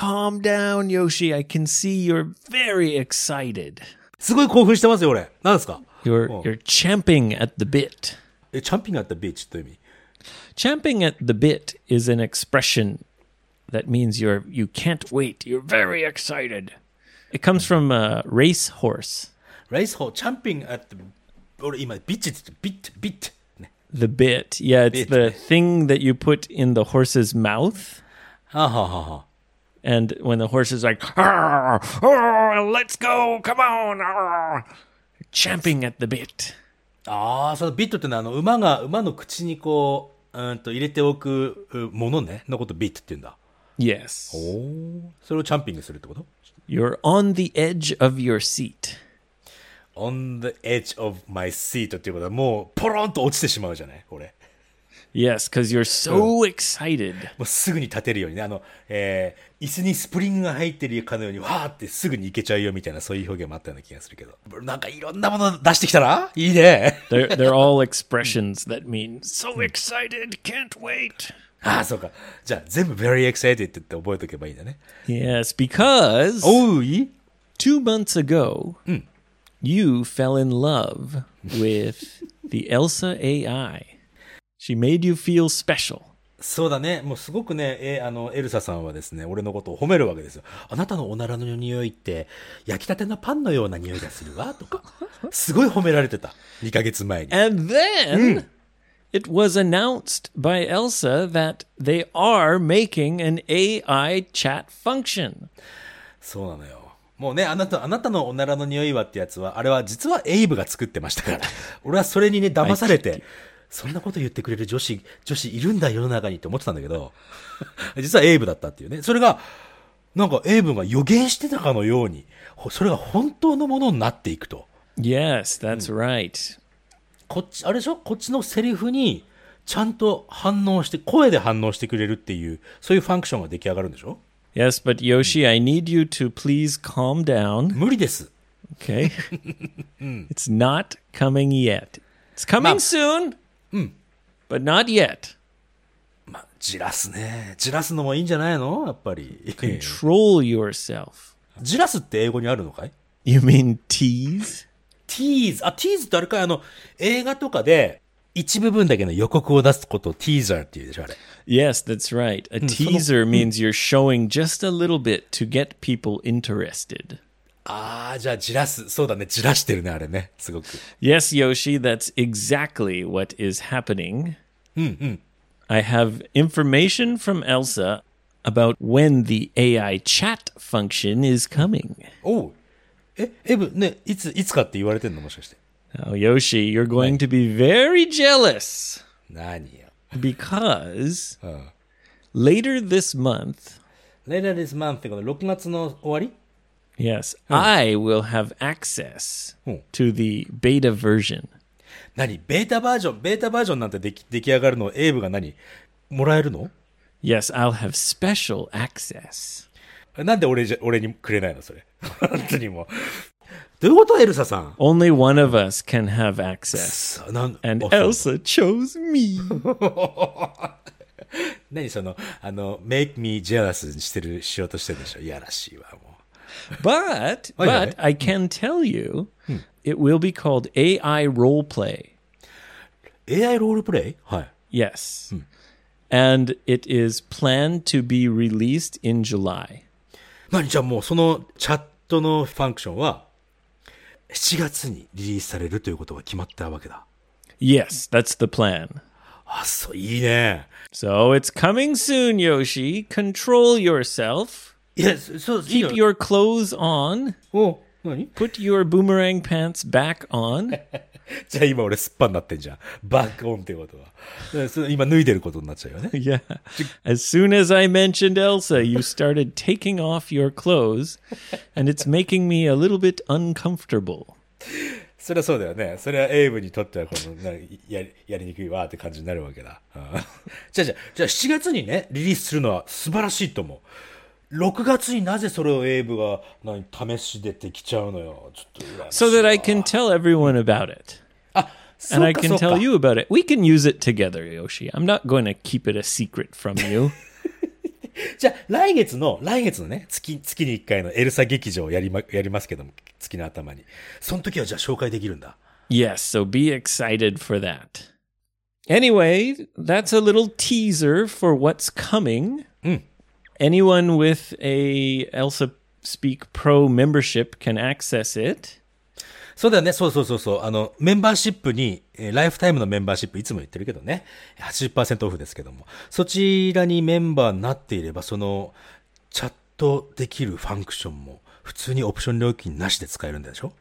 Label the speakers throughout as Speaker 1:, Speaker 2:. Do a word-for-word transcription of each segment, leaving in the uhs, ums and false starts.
Speaker 1: calm down, Yoshi. I can see you're very excited.
Speaker 2: すごい興奮してますよ、俺。何ですか
Speaker 1: You're, you're champing at the bit.
Speaker 2: え、チャンピングアットビーチという意味
Speaker 1: Champing at the bit is an expression that means you're you can't wait. You're very excited. It comes from a race horse.
Speaker 2: レースホー、チャンピングアット、俺今、ビッチって言って、ビット、ビット。ね、
Speaker 1: The bit. Yeah, it's
Speaker 2: Bit.
Speaker 1: the thing that you put in the horse's mouth.
Speaker 2: はあ、はあはあはあ、
Speaker 1: And when the horse is like, "Arr, arr, let's go, come on, arr," champing at the bit.
Speaker 2: ああ、そのビットってのは、あの、馬が、馬の口にこう、うんと入れておくものね、のことビットって言うんだ。
Speaker 1: Yes.
Speaker 2: おお、それをチャンピングするってこと
Speaker 1: You're on the edge of your seat.
Speaker 2: ?on the edge of my seat っていうことは、もう、ポロンと落ちてしまうじゃないこれ。
Speaker 1: Yes, because you're so excited.
Speaker 2: もうすぐに立てるようにね、あの、えー、椅子にスプリングが入ってるかのように、わーってすぐに行けちゃうよみたいな、そういう表現もあったような気がするけど。なんかいろんなもの出してきたらいいね。
Speaker 1: They're, they're all expressions that mean, so excited, can't wait.
Speaker 2: ああ、そうか。じゃあ、全部 very excited って言って覚えとけばいいんだね。
Speaker 1: Yes, because
Speaker 2: おう、いい
Speaker 1: two months ago, you fell in love with the Elsa A I. She made you feel special.
Speaker 2: そうだね。もうすごくね、えーあの、エルサさんはですね、俺のことを褒めるわけですよ。あなたのおならの匂いって、焼きたてのパンのような匂いがするわ、とか。すごい褒められてた。にかげつまえに。
Speaker 1: And then it was announced by Elsa that they are making an A I chat function.
Speaker 2: そうなのよ。もうね、あなた、あなたのおならの匂いはってやつは、あれは実はエイブが作ってましたから。俺はそれにね、騙されて、そんなこと言ってくれる女子、女子いるんだ世の中にって思ってたんだけど、実はエイブだったっていうね。それが、なんかエイブが予言してたかのように、それが本当のものになっていくと。
Speaker 1: Yes, that's right.
Speaker 2: こっち、あれでしょこっちのセリフに、ちゃんと反応して、声で反応してくれるっていう、そういうファンクションが出来上がるんでしょ
Speaker 1: Yes, but Yoshi, I need you to please calm down.
Speaker 2: 無理です。
Speaker 1: Okay? It's not coming yet. It's coming
Speaker 2: Ma-
Speaker 1: soon, but not yet.
Speaker 2: まあ、じらすね。じらすのもいいんじゃないのやっぱり。
Speaker 1: Control yourself.
Speaker 2: じらすって英語にあるのかい
Speaker 1: You mean tease?
Speaker 2: ティーズ。あ、ティーズってあれかいあの、映画とかで、一部分だけの予告を出すことをティーザーって言うでしょあれ。
Speaker 1: Yes, that's right. A teaser means you're showing just a little bit to get people interested.
Speaker 2: ああ、じゃあ、じらす。そうだね。じらしてるね、あれね。すごく。
Speaker 1: Yes, Yoshi, that's exactly what is happening. I have information from Elsa about when the A I chat function is coming.
Speaker 2: おう。え、エブ、ね、いつ、いつかって言われてんのもしかして。
Speaker 1: Now, Yoshi, you're going to be very jealous
Speaker 2: 何よ。
Speaker 1: because later this month,
Speaker 2: Later this month ってことろくがつの終わり
Speaker 1: yes, I will have access to the beta version.
Speaker 2: 何ベータバージョン、ベータバージョンなんてでき出来上がるの、エイブが何もらえるの
Speaker 1: Yes, I'll have special access.
Speaker 2: なんで俺じゃ、俺にくれないのそれ。本当にもう。どういうことエルサさん
Speaker 1: Only one of us can have access.
Speaker 2: さなん
Speaker 1: And
Speaker 2: あそう
Speaker 1: Elsa chose me.
Speaker 2: 何その、あの、make me jealous にしてる、しようとしてるでしょいやらしいわ、もう。
Speaker 1: But,
Speaker 2: Oh, yeah.
Speaker 1: but I can tell you, it will be called A I roleplay.
Speaker 2: エーアイ ロールプレイはい。
Speaker 1: Yes. And it is planned to be released in July.
Speaker 2: 何じゃあもうそのチャットのファンクションは、しちがつにリリースされるということが決まったわけだ。
Speaker 1: Yes, that's the plan.
Speaker 2: あ、そう、いいね。
Speaker 1: So it's coming soon, Yoshi. Control yourself.
Speaker 2: いや、そう、いいよ
Speaker 1: Keep your clothes on.
Speaker 2: お、何
Speaker 1: Put your boomerang pants back on.
Speaker 2: じゃあ今俺すっぱになってんじゃん。バックオンってことは。でそれ今脱いでることになっちゃうよね。
Speaker 1: Yeah. As soon as I mentioned Elsa, you started taking off your clothes, and it's making me a little bit uncomfortable.
Speaker 2: それはそうだよね。それはエイブにとってはこのなやりやりにくいわって感じになるわけだ。うんじゃあじゃあ、じゃあしちがつにね、リリースするのは素晴らしいと思う。ろくがつになぜそれをエイブが何試しでできちゃうのよ。ちょっと羨ましい
Speaker 1: So
Speaker 2: わ
Speaker 1: that I can tell everyone about it.
Speaker 2: あ、そ
Speaker 1: And
Speaker 2: う
Speaker 1: I
Speaker 2: か
Speaker 1: can
Speaker 2: そうか
Speaker 1: tell you about it. We can use it together, Yoshi. I'm not going to keep it a secret from you.
Speaker 2: じゃあ、来月の、来月のね、月、月にいっかいのエルサ劇場をやりま、やりますけども、月の頭に。その時はじゃあ紹介できるんだ。
Speaker 1: Yes, so be excited for that. Anyway, that's a little teaser for what's coming.
Speaker 2: Mm.
Speaker 1: Anyone with a Elsa Speak Pro membership can access it.
Speaker 2: そうだよね。そうそうそうそう。あの、メンバーシップに、えーライフタイムのメンバーシップいつも言ってるけどね。はちじゅっパーセントオフですけども。そちらにメンバーになっていれば、その、チャットできるファンクションも、普通にオプション料金なしで使えるんでしょ？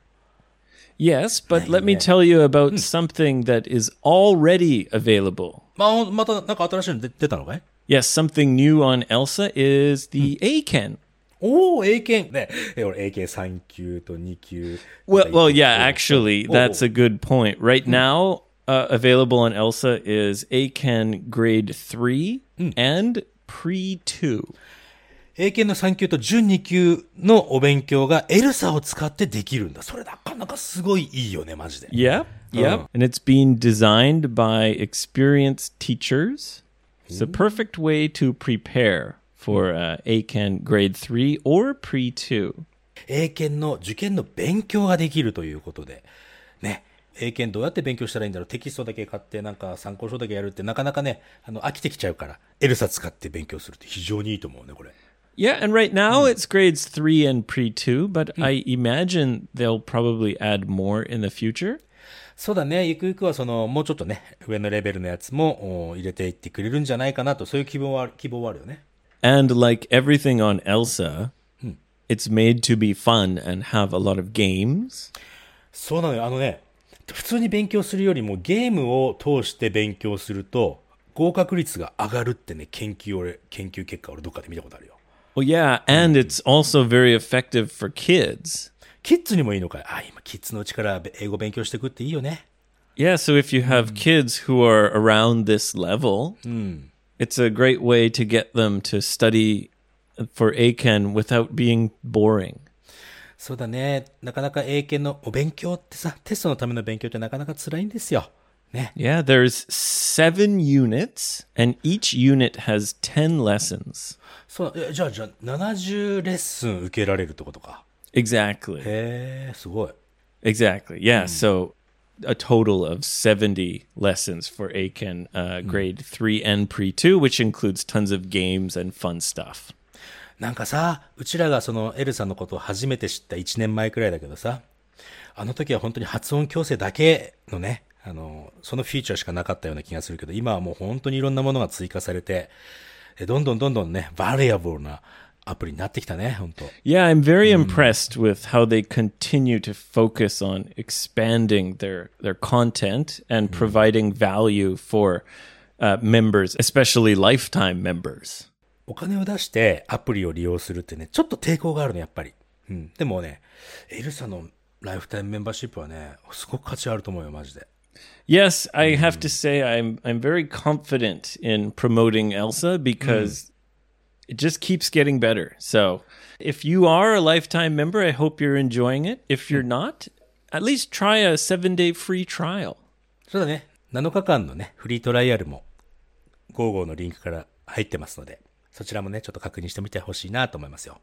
Speaker 1: Yes, but let me tell you about something that is already available.
Speaker 2: まあ、また、なんか新しいの出出たのかい？
Speaker 1: Yes, something new on Elsa is the A-Ken.
Speaker 2: おー、英検。ね。え、俺、英検さん級とに級。
Speaker 1: Well, well, yeah, actually, that's a good point. Right now, uh, available on Elsa is A-Ken grade three and pre two.
Speaker 2: 英検のさん級と準に級のお勉強がエルサを使ってできるんだ。それなかなかすごいいいよね、マジで。
Speaker 1: Yep, yep. And it's being designed by experienced teachers. It's a perfect way to prepare for uh, A-Ken grade three or pre two.
Speaker 2: 英検の受験の勉強ができるということで。ね。英検どうやって勉強したらいいんだろう。テキストだけ買ってなんか参考書だけやるってなかなかね、あの、飽きてきちゃうから、エルサ使って勉強するって非常にいいと思うね、これ。
Speaker 1: Yeah, and right now it's grades three and pre two, but I imagine they'll probably add more in the future.
Speaker 2: そうだね。ゆくゆくはその、もうちょっとね、上のレベルのやつもお入れていってくれるんじゃないかなと、そういう希望は、希望はあるよね。
Speaker 1: And like everything on Elsa, it's made to be fun and have a lot of games.
Speaker 2: そうなのよ。あのね、普通に勉強するよりもゲームを通して勉強すると、合格率が上がるってね、研究俺、研究結果俺どっかで見たことあるよ。
Speaker 1: Well, yeah, and it's also very effective for kids.
Speaker 2: キッズにもいいのかい？あ、今キッズのうちから英語勉強していくっていいよね。
Speaker 1: Yeah, so if you have kids who are around this level, it's a great way to get them to study for A-Ken without being boring.
Speaker 2: そうだね。なかなか英検のお勉強ってさ、テストのための勉強ってなかなか辛いんですよ。ね。
Speaker 1: Yeah, there's seven units, and each unit has ten lessons.
Speaker 2: そう、えじゃあ、じゃあ、ななじゅうレッスン受けられるってことか。
Speaker 1: Exactly.
Speaker 2: へえ、すごい。
Speaker 1: Exactly. Yeah, so a total of seventy lessons for A-Ken uh, grade three and pre two, which includes tons of games and fun stuff.
Speaker 2: なんかさ、うちらがそのエルさんのことを初めて知ったいちねんまえくらいだけどさ、あの時は本当に発音矯正だけのね、あの、そのフィーチャーしかなかったような気がするけど、今はもう本当にいろんなものが追加されて、どんどんどんどんね、バリアブルなアプリになってきたね、本当。
Speaker 1: Yeah, I'm very impressed with how they continue to focus on expanding their, their content and providing value for uh, members, especially lifetime members.
Speaker 2: お金を出してアプリを利用するってね、ちょっと抵抗があるの、やっぱり。うん。でもね、エルサのライフタイムメンバーシップはね、すごく価値あると思うよ、マジで。
Speaker 1: Yes, I have to say I'm I'm very confident in promoting Elsa because it just keeps getting better. So, if you are a lifetime member, I hope you're enjoying it. If you're not, at least try a seven-day free trial.
Speaker 2: そうだね。なのかかんのね、フリートライアルも、ゴーゴーのリンクから入ってますので、そちらもね、ちょっと確認してみてほしいなと思いますよ。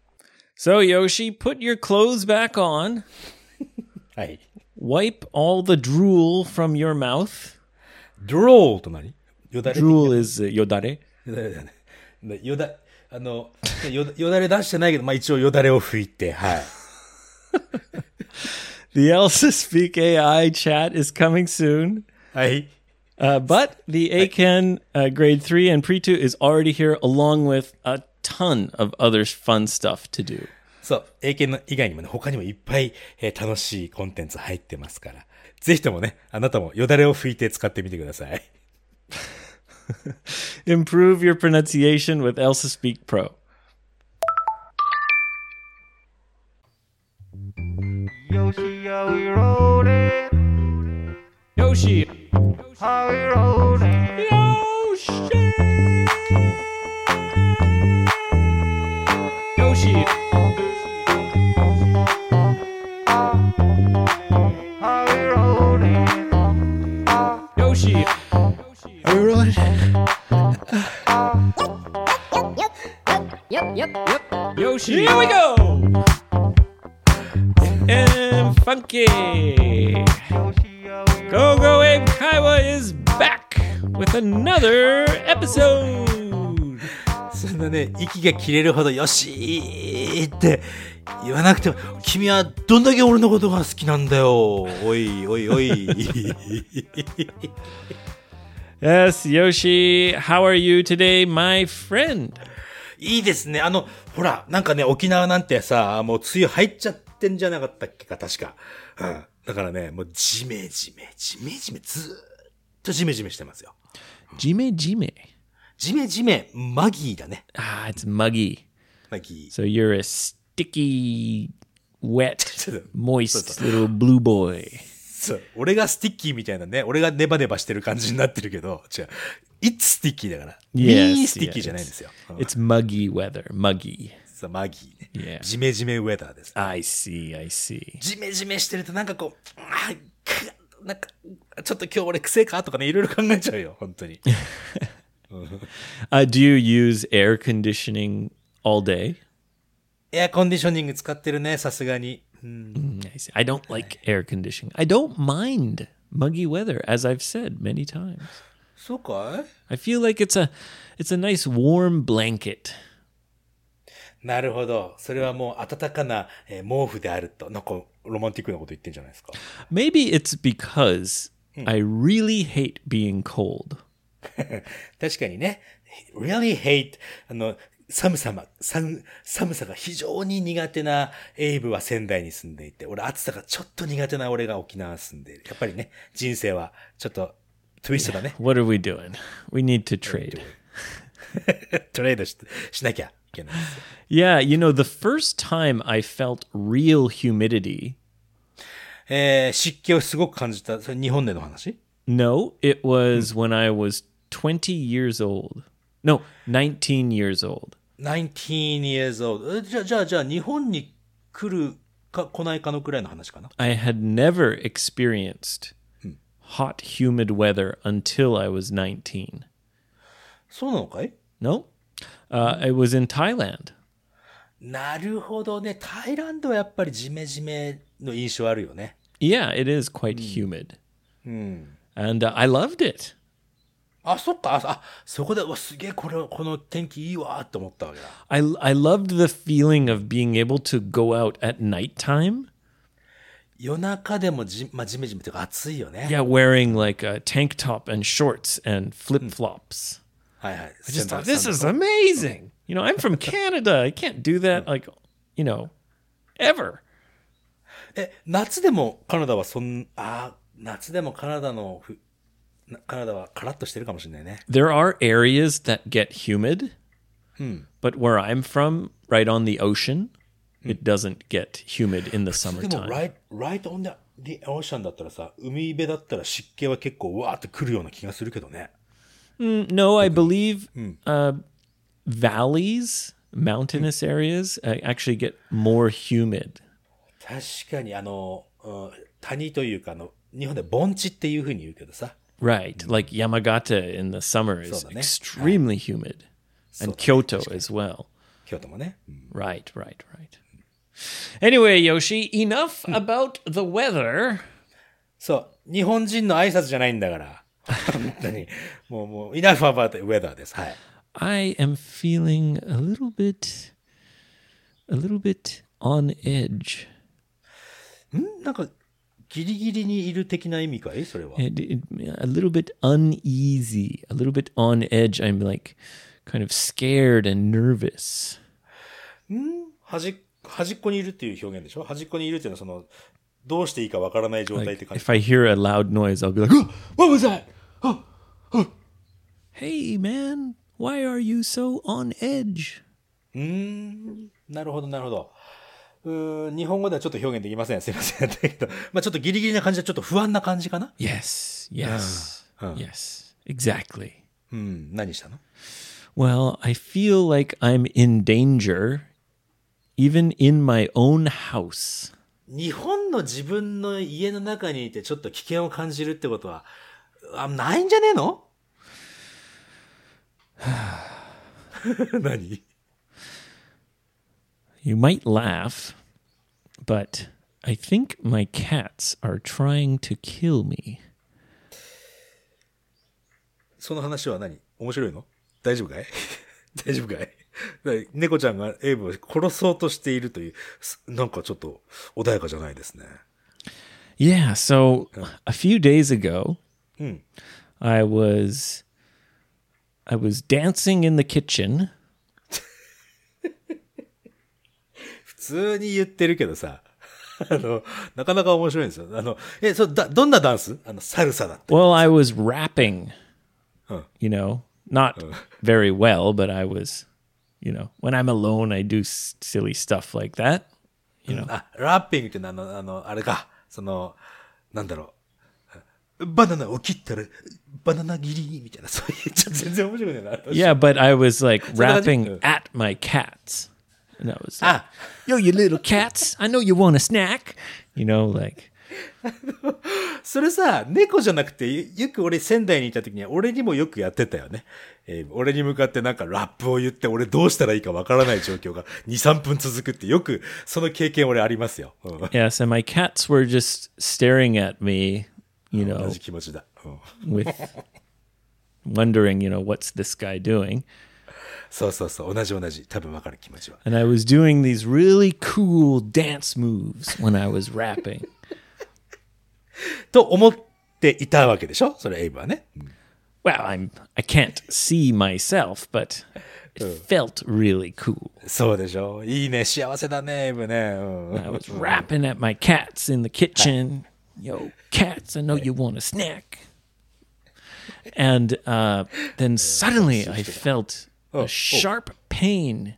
Speaker 1: So, Yoshi, put your clothes back on.
Speaker 2: はい。
Speaker 1: Wipe all the drool from your mouth.
Speaker 2: drool と何？よだれ。
Speaker 1: drool is uh, yodare.
Speaker 2: よだれだね。よだ、あの、よだ、よだれ出してないけど、まあ一応よだれを拭いて、はい。
Speaker 1: The Elsa Speak A I chat is coming soon.
Speaker 2: はい。
Speaker 1: Uh, but the A-Ken uh, grade three and pre two is already here along with a ton of other fun stuff to do.
Speaker 2: そう。英検の以外にもね、他にもいっぱい、えー、楽しいコンテンツ入ってますから。ぜひともね、あなたもよだれを拭いて使ってみてください。
Speaker 1: Improve your pronunciation with Elsa Speak Pro.
Speaker 3: Yoshi, how we rolling?
Speaker 1: Yoshi!
Speaker 3: How we rolling?
Speaker 1: Yoshi! Yoshi!
Speaker 3: How we rolling?
Speaker 1: Yoshi!
Speaker 2: Are you rolling?
Speaker 1: Yoshi, here we go! And funky! Go Go Abe Kaiwa is back with another episode!
Speaker 2: そんなね、息が切れるほどよしーって言わなくても、君はどんだけ俺のことが好きなんだよ。おいおいおい。
Speaker 1: Yes, Yoshi, how are you today, my friend?
Speaker 2: いいですね。あの、ほら、なんかね、沖縄なんてさ、もう梅雨入っちゃってんじゃなかったっけか、確か。うん。だからね、もうジメジメ、ジメジメ、ずーっとジメジメしてますよ。
Speaker 1: Jime Jime.
Speaker 2: ジメジメ、マギーだね。
Speaker 1: Ah, it's muggy.
Speaker 2: マギー。
Speaker 1: So you're a sticky, wet, moist
Speaker 2: そう
Speaker 1: little blue boy.
Speaker 2: そう。俺がスティッキーみたいなね、俺がネバネバしてる感じになってるけど、違う。It's sticky だから。
Speaker 1: Yes,
Speaker 2: ミースティッキー
Speaker 1: yes.
Speaker 2: じゃないんですよ。うん
Speaker 1: It's muggy weather, muggy.
Speaker 2: そう、マギーね。
Speaker 1: Yeah.
Speaker 2: ジメジメウェダーです。
Speaker 1: I see, I see.
Speaker 2: ジメジメしてるとなんかこう、あくなんか、ちょっと今日俺癖かとかね、いろいろ考えちゃうよ、本当に。
Speaker 1: Uh, do you use air conditioning all day?
Speaker 2: エアコンディショニング使ってるね、さすがに。うん、
Speaker 1: Mm, I see. I don't like air conditioning. I don't mind muggy weather, as I've said many times.
Speaker 2: そうかい？
Speaker 1: I feel like it's a it's a nice warm blanket.
Speaker 2: なるほど。それはもう暖かな、えー毛布であると。なんかロマンティックなこと言ってんじゃないですか。
Speaker 1: Maybe it's because I really hate being cold.
Speaker 2: 確かにね。really hate あの寒さま、寒寒さが非常に苦手なエイブは仙台に住んでいて、俺暑さがちょっと苦手な俺が沖縄住んでいる。やっぱりね、人生はちょっとトゥイストだね。
Speaker 1: What are we doing? We need to trade.
Speaker 2: トレードし、しなきゃいけないですよ。
Speaker 1: Yeah, you know, the first time I felt real humidity,
Speaker 2: えー、湿気をすごく感じた。それ日本での話？
Speaker 1: no, it was when I was twenty years old. No, nineteen years old.
Speaker 2: nineteen years old. えじゃあ、じゃあ、じゃあ、日本に来るか来ないかのくらいの話かな？
Speaker 1: I had never experienced hot, humid weather until I was nineteen.
Speaker 2: そうなのかい？
Speaker 1: No? Uh, I was in Thailand.
Speaker 2: なるほどね。タイランドはやっぱりジメジメの印象あるよね。
Speaker 1: Yeah, it is quite humid.
Speaker 2: うん。
Speaker 1: And uh, I loved it.
Speaker 2: あ、そっか。あ、あそこで、うわ、すげえ、これ、この天気いいわって思ったわけだ。
Speaker 1: I, I loved the feeling of being able to go out at nighttime.
Speaker 2: 夜中でもじ、まあ、ジメジメっていうか暑いよね。
Speaker 1: Yeah, wearing like a tank top and shorts and flip flops.
Speaker 2: はいはい。
Speaker 1: I just thought, this is amazing. You know, I'm from Canada. I can't do that, like, you know, ever.
Speaker 2: え、夏でもカナダはそん、あ、夏でもカナダのふ、なカナダはカラッとしてるかもしれないね。
Speaker 1: There are areas that get humid, but where I'm from, right on the ocean, it doesn't get humid in the
Speaker 2: でも、
Speaker 1: summertime.
Speaker 2: right, right on the, the ocean だったらさ、海辺だったら湿気は結構うわーってくるような気がするけどね。
Speaker 1: Mm, no, I believe uh, valleys, mountainous areas, uh, actually get more humid.
Speaker 2: 確かにあの、うん谷というかあの、日本で盆地っていう風に言うけどさ。
Speaker 1: Right, like Yamagata in the summer is
Speaker 2: そうだね。
Speaker 1: extremely humid,
Speaker 2: そうだね。
Speaker 1: and Kyoto as well.
Speaker 2: 京都もね。うん
Speaker 1: Right, right, right. Anyway, Yoshi, enough about the weather.
Speaker 2: そう。日本人の挨拶じゃないんだから。本当に。もう、もう、enough about the weather です。はい。
Speaker 1: I am feeling a little bit, a little bit on edge.
Speaker 2: んなんか、ギリギリにいる的な意味かいそれは。
Speaker 1: It, it, a little bit uneasy, a little bit on edge. I'm like kind of scared and nervous.
Speaker 2: 端、端っこにいるっていう表現でしょ？端っこにいるっていうのはその、どうしていいかわからない状態って
Speaker 1: Like
Speaker 2: 感じ。
Speaker 1: if I hear a loud noise, I'll be like, "Oh, what was that? Oh, oh. Hey, man, why are you so on edge?"
Speaker 2: うーん。なるほど、なるほど。うーん、日本語ではちょっと表現できません。すいません。だけど、まあちょっとギリギリな感じでちょっと不安な感じかな？
Speaker 1: Yes, yes, yes, exactly.
Speaker 2: うん、何したの？
Speaker 1: Well, I feel like I'm in danger, even in my own house.
Speaker 2: 日本の自分の家の中にいてちょっと危険を感じるってことは、あ、ないんじゃねえの？何？
Speaker 1: You might laugh, but I think my cats are trying to kill me.
Speaker 2: その話は何？面白いの？大丈夫かい？大丈夫かい？猫ちゃんがエイブを殺そうとしているという、なんかちょっと穏やかじゃないですね。
Speaker 1: Yeah, so a few days ago,
Speaker 2: うん。
Speaker 1: I was I was dancing in the kitchen.
Speaker 2: 普通に言ってるけどさ、あの、なかなか面白いんですよ。あの、え、そ、だ、どんなダンス？あの、サルサだって。
Speaker 1: Well, I was rapping,
Speaker 2: Huh.
Speaker 1: you know, not very well, but I was, you know, when I'm alone, I do s- silly stuff like that, you know.
Speaker 2: あ、ラッピングってのはあの、あの、あれか、その、なんだろう。バナナを切ったら、バナナ切りみたいな、そういう、ちょっと全然面白いねな。
Speaker 1: Yeah, but I was like rapping
Speaker 2: Uh.
Speaker 1: at my cats. And I was like,
Speaker 2: あ、
Speaker 1: yo, you little cats, I know you want a snack. You know, like,
Speaker 2: それさ、猫じゃなくて、よよく俺仙台にいた時には、俺にもよくやってたよね。えー俺に向かってなんかラップを言って、俺どうしたらいいかわからない状況がに、さんぷん続くって、よくその経験俺ありますよ。うん、
Speaker 1: yes, and my cats were just staring at me, you
Speaker 2: 同
Speaker 1: know,
Speaker 2: じ気持ちだ。うん、
Speaker 1: with wondering, you know, what's this guy doing?
Speaker 2: そうそうそう、同じ同じ。多分わかる気持ちは。
Speaker 1: And I was doing these really cool dance moves when I was rapping.
Speaker 2: と思っていたわけでしょ？それエイブはね。
Speaker 1: Well, I'm I can't see myself, but it felt really cool.
Speaker 2: そうでしょ？いいね、幸せだね、エイブね。うん、
Speaker 1: I was rapping at my cats in the kitchen. Yo, cats, I know you want a snack. And uh, then suddenly I felt a sharp pain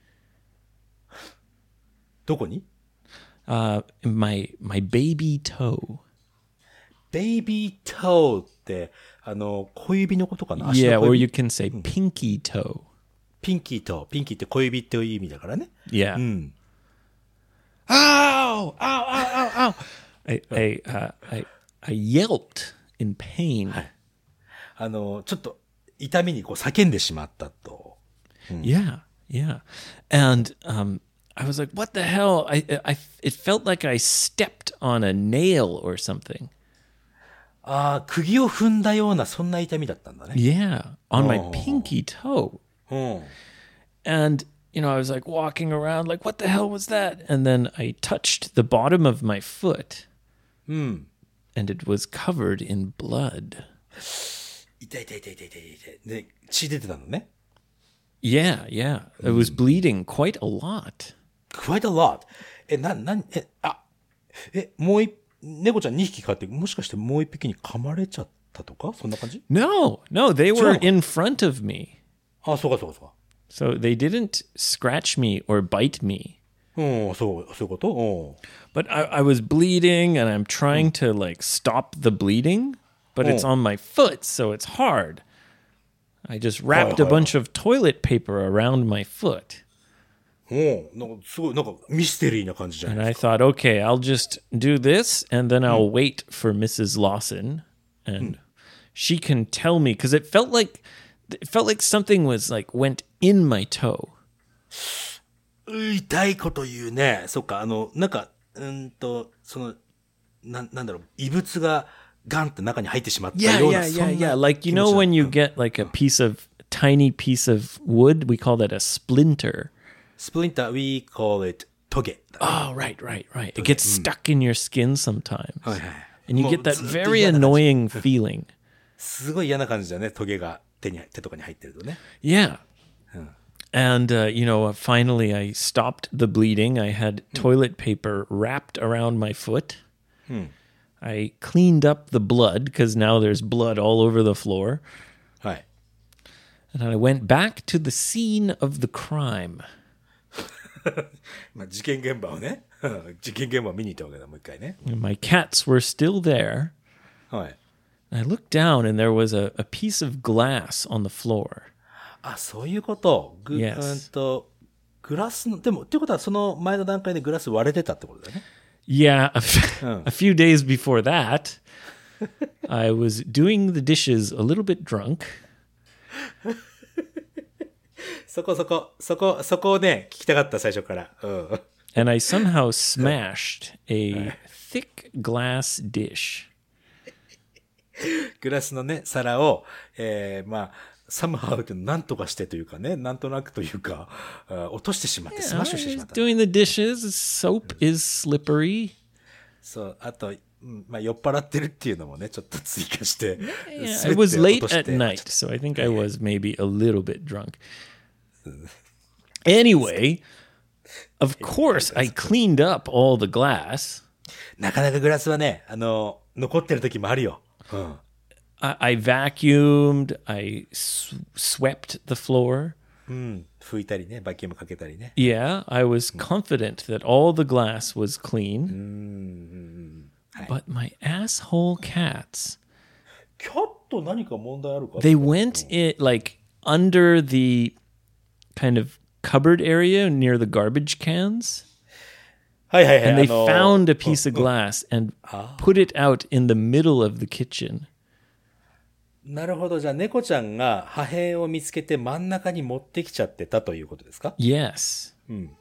Speaker 2: どこに？
Speaker 1: uh, in my my baby toe.
Speaker 2: ベイビートーって、あの、小指のことかな？足
Speaker 1: Yeah,
Speaker 2: の小
Speaker 1: or
Speaker 2: 指
Speaker 1: you can say pinky toe.
Speaker 2: ピンキーと、ピンキーって小指っていう意味だからね。
Speaker 1: Yeah.
Speaker 2: うん。
Speaker 1: Ow! Ow! Ow! Ow! Ow! I I uh, I I yelped in pain.
Speaker 2: あの、ちょっと痛みにこう叫んでしまったと。
Speaker 1: Yeah, yeah. And um, I was like, "What the hell?" I, I, it felt like I stepped on a nail or something.
Speaker 2: ああ、釘を踏んだような、そんな痛みだったんだね。
Speaker 1: Yeah, on my
Speaker 2: Oh.
Speaker 1: pinky toe.
Speaker 2: うん。
Speaker 1: And you know, I was like walking around, like, "What the hell was that?" And then I touched the bottom of my foot,
Speaker 2: うん。
Speaker 1: and it was covered in blood.
Speaker 2: 痛い痛い痛い痛い痛い痛い。で、血出てたのね。
Speaker 1: Yeah, yeah. It was bleeding quite a lot.
Speaker 2: quite a lot. え、な、な、え、あ、え、もう一、猫ちゃんにひき飼って、もしかしてもう一匹に噛まれちゃったとかそんな感じ？
Speaker 1: No, no, they were
Speaker 2: Sure.
Speaker 1: in front of me.
Speaker 2: あ、そうかそうかそうか。
Speaker 1: So they didn't scratch me or bite me.
Speaker 2: うん、そう、そういうことうん。
Speaker 1: But I, I was bleeding and I'm trying to like stop the bleeding, but it's
Speaker 2: Oh.
Speaker 1: on my foot, so it's hard. I just wrapped a
Speaker 2: hi,
Speaker 1: bunch of toilet paper around my foot.
Speaker 2: うん、なんかすごい、なんかミステリーな感じじゃない
Speaker 1: And
Speaker 2: で
Speaker 1: I
Speaker 2: すか。
Speaker 1: thought, okay, I'll just do this and then I'll wait for Missus Lawson and she can tell me because it felt like it felt like something was like went in my toe.
Speaker 2: 痛いこと言うね。そっか、あの、なんか、うんと、その、な、なんだろう、異物がガンって中に入ってしまった
Speaker 1: Yeah,
Speaker 2: ような、
Speaker 1: yeah,
Speaker 2: そん
Speaker 1: yeah,
Speaker 2: な
Speaker 1: yeah. Like, you
Speaker 2: 気持ち
Speaker 1: know,
Speaker 2: だ
Speaker 1: when you get like a piece of tiny piece of wood, we call that a splinter.
Speaker 2: スプリンター、we call it トゲ。
Speaker 1: Oh, right, right, right. It gets stuck in your skin sometimes.
Speaker 2: はいはい。
Speaker 1: And you
Speaker 2: もう
Speaker 1: get that
Speaker 2: ずっと
Speaker 1: very
Speaker 2: 嫌な感じ
Speaker 1: annoying feeling.
Speaker 2: すごい嫌な感じだね、トゲが手に、手とかに入ってるとね。
Speaker 1: Yeah. And, uh, you know, finally I stopped the bleeding. I had toilet paper wrapped around my foot. I cleaned up the blood because now there's blood all over the floor.
Speaker 2: はい。
Speaker 1: And I went back to the scene of the crime.
Speaker 2: まあ、事件現場をね、事件現場を見に行ったわけだ、もう一回ね。
Speaker 1: And my cats were still there.
Speaker 2: はい。
Speaker 1: I looked down and there was a, a piece of glass on the floor.
Speaker 2: あ、そういうこと。ぐ、
Speaker 1: Yes.
Speaker 2: うんと、グラスの、でも、っていうことはその前の段階でグラス割れてたってことだよね。
Speaker 1: Yeah, a, f- a few days before that, I was doing the dishes a little bit drunk.
Speaker 2: そこそこ、そこ、そこをね、聞きたかった最初から。うん。
Speaker 1: And I somehow smashed a thick glass dish.
Speaker 2: グラスのね、皿を、えー、まあ、somehow ってなんとかしてというかね、なんとなくというか、あ落としてしまって、スマッシュしてしま
Speaker 1: I
Speaker 2: っ
Speaker 1: was
Speaker 2: た。
Speaker 1: doing the dishes. Soap is slippery.
Speaker 2: そう、あと、うんまあ、酔っ払ってるっていうのもね、ちょっと追加して。
Speaker 1: Yeah,
Speaker 2: 全
Speaker 1: it was
Speaker 2: て落
Speaker 1: late
Speaker 2: として
Speaker 1: at night, so I think I was maybe a little bit drunk. Anyway, of course, I cleaned up all the glass.
Speaker 2: なかなかグラスはね、あの、残ってる時もあるよ。うん。
Speaker 1: I, I vacuumed. I s- swept the floor.
Speaker 2: うん。拭いたりね、バキュームかけたりね。
Speaker 1: Yeah, I was confident that all the glass was clean. But my asshole cats,
Speaker 2: キャット何か問題あるか
Speaker 1: they went in like under the kind of cupboard area near the garbage cans,
Speaker 2: はいはいはい。
Speaker 1: and they
Speaker 2: あの
Speaker 1: found a piece of glass and put it out in the middle of the kitchen.
Speaker 2: なるほど。じゃあ、猫ちゃんが破片を見つけて真ん中に持ってきちゃってたということですか？
Speaker 1: Yes.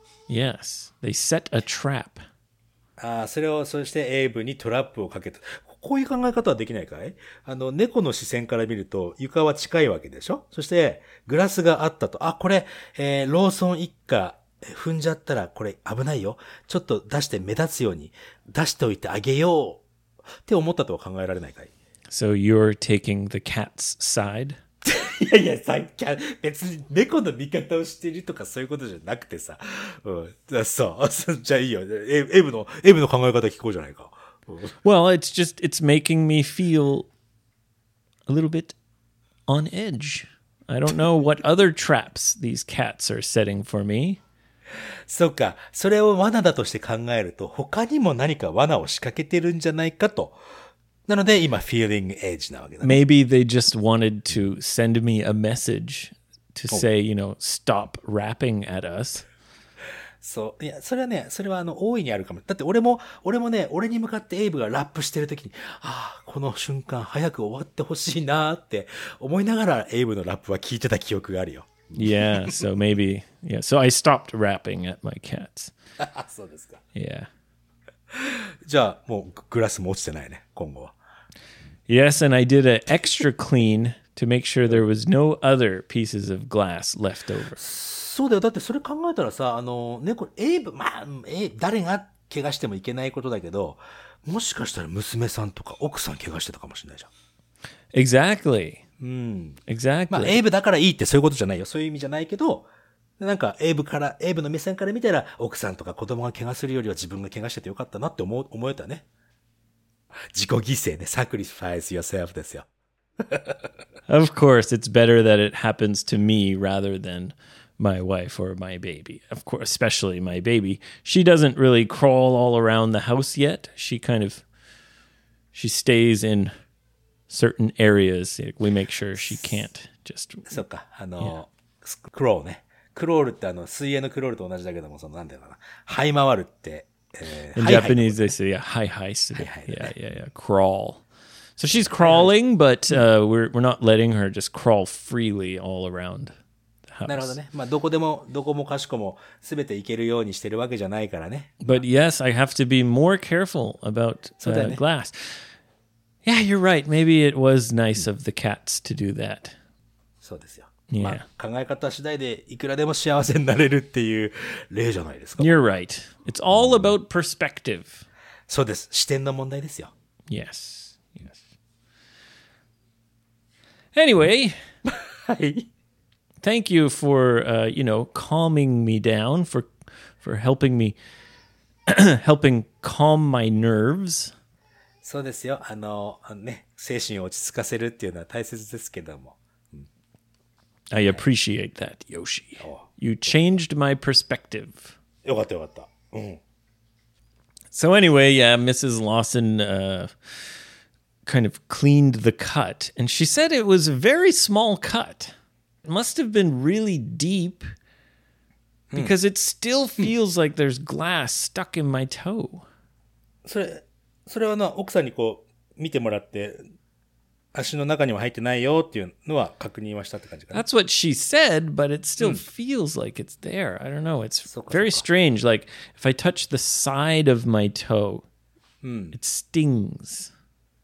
Speaker 1: Yes. They set a trap.
Speaker 2: ああ、それを、そしてエイブにトラップをかけた。こういう考え方はできないかい？あの、猫の視線から見ると床は近いわけでしょ？そして、グラスがあったと。あ、これ、えー、ローソン一家踏んじゃったらこれ危ないよ。ちょっと出して目立つように出しておいてあげよう。って思ったとは考えられないかい？
Speaker 1: So you're taking the cat's side?
Speaker 2: いやいや、さっき、別に猫の味方をしてるとかそういうことじゃなくてさ。うん。だそう。じゃあいいよ。エエイブの、エイブの考え方聞こうじゃないか。うん
Speaker 1: Well, it's just, it's making me feel a little bit on edge. I don't know what other traps these cats are setting for me.
Speaker 2: そうか。それを罠だとして考えると、他にも何か罠を仕掛けてるんじゃないかと。なので、今、feeling edge なわけだね。
Speaker 1: Maybe they just wanted to send me a message to say, you know, stop rapping at us.
Speaker 2: そう。いや、それはね、それはあの、大いにあるかも。だって俺も、俺もね、俺に向かってエイブがラップしてるときに、ああ、この瞬間早く終わってほしいなーって思いながらエイブのラップは聞いてた記憶があるよ。
Speaker 1: Yeah, so maybe, yeah. So I stopped rapping at my cats.
Speaker 2: そうですか。
Speaker 1: Yeah.
Speaker 2: じゃあ、もうグラスも落ちてないね、今後は。
Speaker 1: Yes, and I did an extra clean to make sure there was no other pieces of glass left over.
Speaker 2: そうだよ。だってそれ考えたらさ、あの、猫、エイブ、まあ、え、誰が怪我してもいけないことだけど、もしかしたら娘さんとか奥さん怪我してたかもしれないじゃん。
Speaker 1: Exactly.
Speaker 2: うん。
Speaker 1: Exactly.
Speaker 2: まあ、エイブだからいいってそういうことじゃないよ。そういう意味じゃないけど、なんか、エイブから、エイブの目線から見たら、奥さんとか子供が怪我するよりは自分が怪我しててよかったなって思う、思えたね。自己犠牲ね。sacrifice yourself ですよ。
Speaker 1: Of course, it's better that it happens to me rather than my wife or my baby. Of course, especially my baby. She doesn't really crawl all around the house yet. She kind of, she stays in certain areas. We make sure she can't just.
Speaker 2: そっか。あの、クロールね。クロールってあの、水泳のクロールと同じだけども、その、なんていうのかな。這い回るって、えー
Speaker 1: In
Speaker 2: はいはい
Speaker 1: Japanese, they say, yeah, hi, hi. So they-
Speaker 2: hi,
Speaker 1: yeah, yeah, yeah, crawl. So she's crawling, but uh, we're we're not letting her just crawl freely all around the
Speaker 2: なるほど
Speaker 1: house.
Speaker 2: ね。まあ、どこでも、どこもかしこも、すべて行けるようにしてるわけじゃないからね。
Speaker 1: But yes, I have to be more careful about uh,
Speaker 2: だよね。
Speaker 1: glass. Yeah, you're right. Maybe it was nice of the cats to do that.
Speaker 2: そうですよ。
Speaker 1: Yeah.
Speaker 2: まあ、考え方次第でいくらでも幸せになれるっていう例じゃないですか。
Speaker 1: You're right. It's all about perspective.
Speaker 2: そうです。視点の問題ですよ。
Speaker 1: Yes. Yes. Anyway,
Speaker 2: はい。
Speaker 1: thank you for uh, you know, calming me down, for for helping me helping calm my nerves.
Speaker 2: そうですよ。あの、あのね、精神を落ち着かせるっていうのは大切ですけども。
Speaker 1: I appreciate that, Yoshi. You changed my perspective.
Speaker 2: よかったよかった。うん。
Speaker 1: So anyway, yeah, Missus Lawson uh, kind of cleaned the cut, and she said it was a very small cut. It must have been really deep because it still feels like there's glass stuck in my toe.
Speaker 2: それ、それはな、奥さんにこう、見てもらって、 足の中には入ってないよっていうのは確認はしたって感じかな。
Speaker 1: That's what she said, but it still feels like it's there. I don't know. It's
Speaker 2: そっか
Speaker 1: very
Speaker 2: そっか。
Speaker 1: strange. Like if I touch the side of my toe, it stings.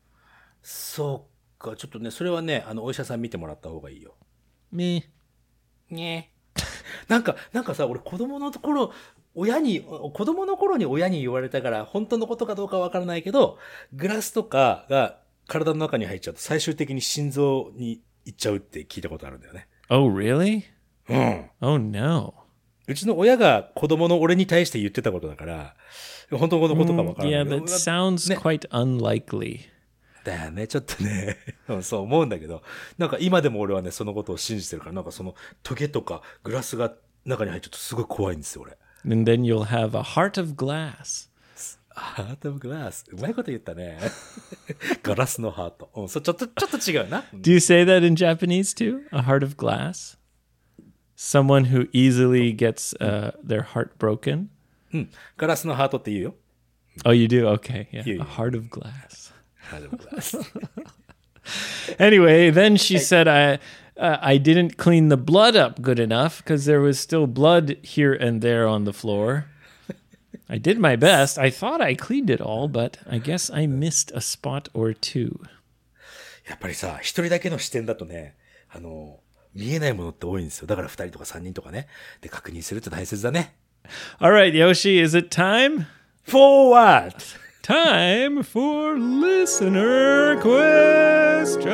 Speaker 2: そうか、ちょっとね、それはね、あの、お医者さん見てもらった方がいいよ。
Speaker 1: Meh.
Speaker 2: ねなんか、なんかさ、俺子供の頃、親に、子供の頃に親に言われたから、本当のことかどうかわからないけど、グラスとかが体の中に入っちゃうと、最終的に心臓に行っちゃうって聞いたことあるんだよね。
Speaker 1: Oh, really?
Speaker 2: うん。
Speaker 1: Oh, no.
Speaker 2: うちの親が子供の俺に対して言ってたことだから、本当のことかわからない
Speaker 1: Yeah,
Speaker 2: けど。
Speaker 1: that sounds
Speaker 2: ね
Speaker 1: quite unlikely.
Speaker 2: だよね、ちょっとね、うんそう思うんだけど、なんか今でも俺はね、そのことを信じてるから、なんかそのトゲとかグラスが中に入っちゃうとすごい怖いんですよ、俺。
Speaker 1: And then you'll have a heart of glass.
Speaker 2: ハートオブグラス。うまいこと言ったね。ガラスのハート。うん、そう、ちょっと、ちょっと違うな。
Speaker 1: Do you say that in Japanese too? A heart of glass? Someone who easily gets uh, their heart broken?
Speaker 2: うん。ガラスのハートって言うよ。
Speaker 1: Oh, you do? Okay. Yeah.
Speaker 2: Yeah,
Speaker 1: A
Speaker 2: yeah.
Speaker 1: heart of glass.
Speaker 2: ハートオブグラス。
Speaker 1: Anyway, then she said I uh, I didn't clean the blood up good enough because there was still blood here and there on the floor. I did my best. I thought I cleaned it all, but I guess I missed a spot or two.
Speaker 2: やっぱりさ、一人だけの視点だとね、あの、見えないものって多いんですよ。だから二人とか三人とかね。で、確認するって大切だね。
Speaker 1: All right, Yoshi, is it time?
Speaker 2: For what?
Speaker 1: Time for listener questions.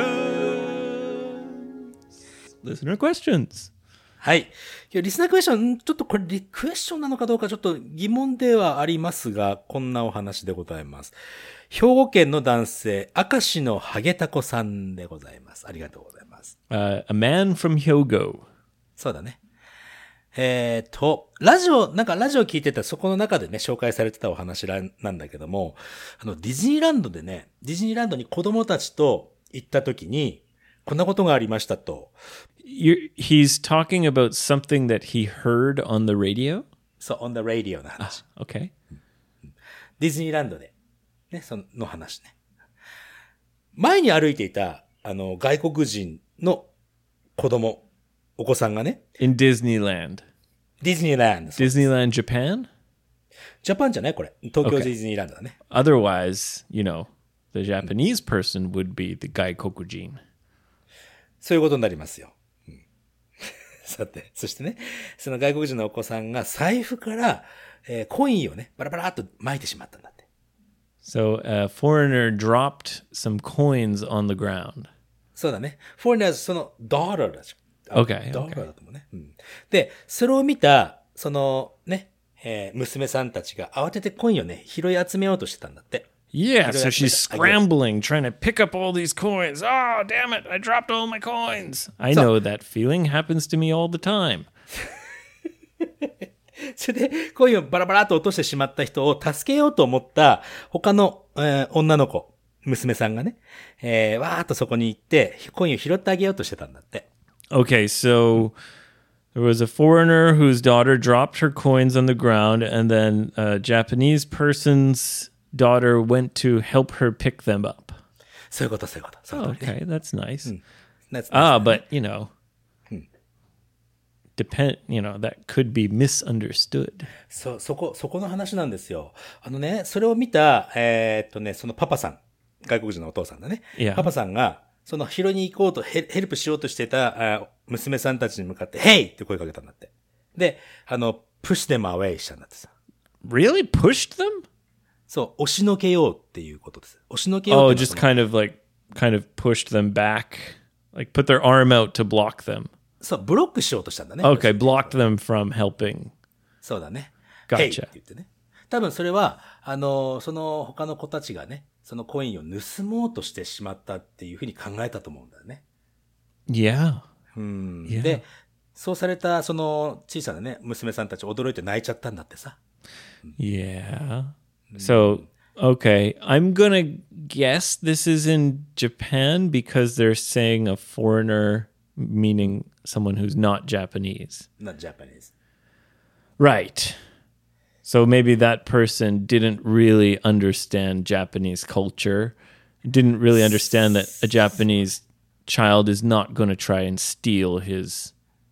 Speaker 1: Listener questions.
Speaker 2: はい。今日リスナークエスチョン、ちょっとこれリクエスチョンなのかどうかちょっと疑問ではありますが、こんなお話でございます。兵庫県の男性、明石のハゲタコさんでございます。ありがとうございます。
Speaker 1: Uh, a man from Hyogo.
Speaker 2: そうだね。えーと、ラジオ、なんかラジオ聞いてたそこの中でね、紹介されてたお話なんだけども、あの、ディズニーランドでね、ディズニーランドに子供たちと行った時に、こんなことがありましたと。
Speaker 1: You're, he's talking about something that he heard on the radio?
Speaker 2: そう、on the radio の話。
Speaker 1: Okay.
Speaker 2: ディズニーランドで、ね、その話ね。前に歩いていた、あの、外国人の子供、お子さんがね、
Speaker 1: In Disneyland.
Speaker 2: ディズニーランド。
Speaker 1: Disneyland Japan?
Speaker 2: ジャパンじゃないこれ。東京
Speaker 1: Okay.
Speaker 2: ディズニーランドだね。
Speaker 1: Otherwise, you know, the Japanese person would be the gaikokujin.
Speaker 2: そういうことになりますよ。うん、さて、そしてね、その外国人のお子さんが財布から、えーコインをね、バラバラっと撒いてしまったんだって。
Speaker 1: So a foreigner dropped some coins on the ground.
Speaker 2: そうだね。フォーナーズ、その、ダーラーだし。
Speaker 1: Okay,
Speaker 2: ダーラーだと思うね、うん。で、それを見た、そのね、えー娘さんたちが慌ててコインをね、拾い集めようとしてたんだって。
Speaker 1: Yeah,
Speaker 2: don't
Speaker 1: so
Speaker 2: have
Speaker 1: she's
Speaker 2: to- I guess.
Speaker 1: scrambling, trying to pick up all these coins. Oh, damn it, I dropped all my coins. I know that feeling happens to me all the time.
Speaker 2: それで、コインをバラバラっと落としてしまった人を助けようと思った他の、えー女の子、娘さんがね、えー、わーっとそこに行って、コインを拾ってあげようとしてたんだって。
Speaker 1: Okay, so there was a foreigner whose daughter dropped her coins on the ground, and then a Japanese person's daughter went to help her pick them up.
Speaker 2: そういうこと、そういうこと。そういう
Speaker 1: Oh,
Speaker 2: ことね。
Speaker 1: okay, that's nice.
Speaker 2: That's-
Speaker 1: Ah, but, you know, depend, you know, that could be misunderstood.
Speaker 2: そう、そこ、そこの話なんですよ。あのね、それを見た、えーっとね、そのパパさん、外国人のお父さんだね。
Speaker 1: Yeah.
Speaker 2: パパさんが、その拾いに行こうとヘ、ヘルプしようとしてたあ娘さんたちに向かって、Hey! って声かけたんだって。で、あの、push them away したんだってさ。
Speaker 1: Really? Pushed them?
Speaker 2: そう、押しのけようっていうことです。押しのけよう
Speaker 1: Oh,
Speaker 2: っていう
Speaker 1: just
Speaker 2: のは
Speaker 1: kind of like, kind of pushed them back, like put their arm out to block them.
Speaker 2: そう、ブロックしようとしたんだね。
Speaker 1: Okay, blocked them from helping.
Speaker 2: そうだね。
Speaker 1: Gotcha.
Speaker 2: Hey! って言ってね。多分それは、あの、その他の子たちがね、そのコインを盗もうとしてしまったっていうふうに考えたと思うんだよね。
Speaker 1: Yeah.
Speaker 2: うん。
Speaker 1: Yeah.
Speaker 2: で、そうされたその小さなね、娘さんたち驚いて泣いちゃったんだってさ。
Speaker 1: Yeah. So, okay, I'm gonna guess this is in Japan because they're saying a foreigner, meaning someone who's not Japanese.
Speaker 2: not Japanese.
Speaker 1: Right. So maybe that person didn't really understand Japanese culture didn't really understand that a Japanese child is not going to try and steal his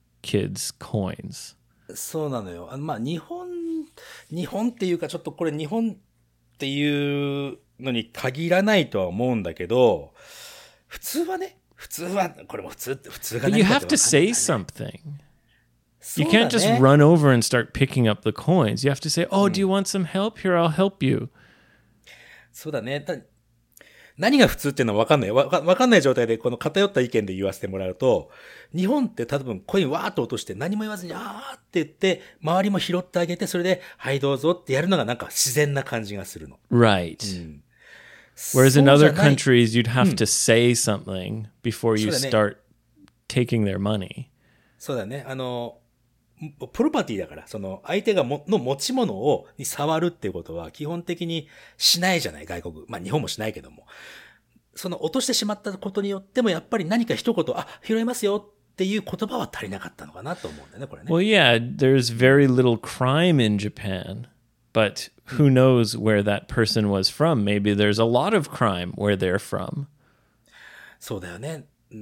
Speaker 1: kids' coins.
Speaker 2: そうなのよ。あのまあ日本、日本っていうかちょっとこれ日本っていうのに限らないとは思うんだけど、普通はね、普通は、これも普通、普通が
Speaker 1: But
Speaker 2: 何
Speaker 1: you
Speaker 2: か
Speaker 1: have
Speaker 2: って
Speaker 1: to
Speaker 2: わかんない
Speaker 1: say
Speaker 2: からね。
Speaker 1: something.
Speaker 2: そ
Speaker 1: You
Speaker 2: うだ
Speaker 1: can't just
Speaker 2: ね。
Speaker 1: run over and start picking up the coins. You have to say, "Oh, do you want some help? Here, I'll help you."
Speaker 2: そうだね。だ何が普通っていうのはわかんない。わかわかんない状態でこの偏った意見で言わせてもらうと、日本って多分コインわーっと落として何も言わずにあーって言って、周りも拾ってあげて、それで、はいどうぞってやるのがなんか自然な感じがするの。
Speaker 1: Right.
Speaker 2: うん
Speaker 1: Whereas in
Speaker 2: そうじゃ
Speaker 1: other
Speaker 2: ない
Speaker 1: countries, you'd have to say something before you
Speaker 2: そうだね。
Speaker 1: start taking their money.
Speaker 2: そうだね。あの、プロパティだから、その相手がもの持ち物をに触るっていうことは基本的にしないじゃない、外国。まあ日本もしないけども。その落としてしまったことによってもやっぱり何か一言、あ、拾いますよっていう言葉は足りなかったのかなと思うんだよね、これね。
Speaker 1: Well, yeah, there's very little crime in Japan, but who knows where that person was from? Maybe there's a lot of crime where they're from.
Speaker 2: そうだよね。うん、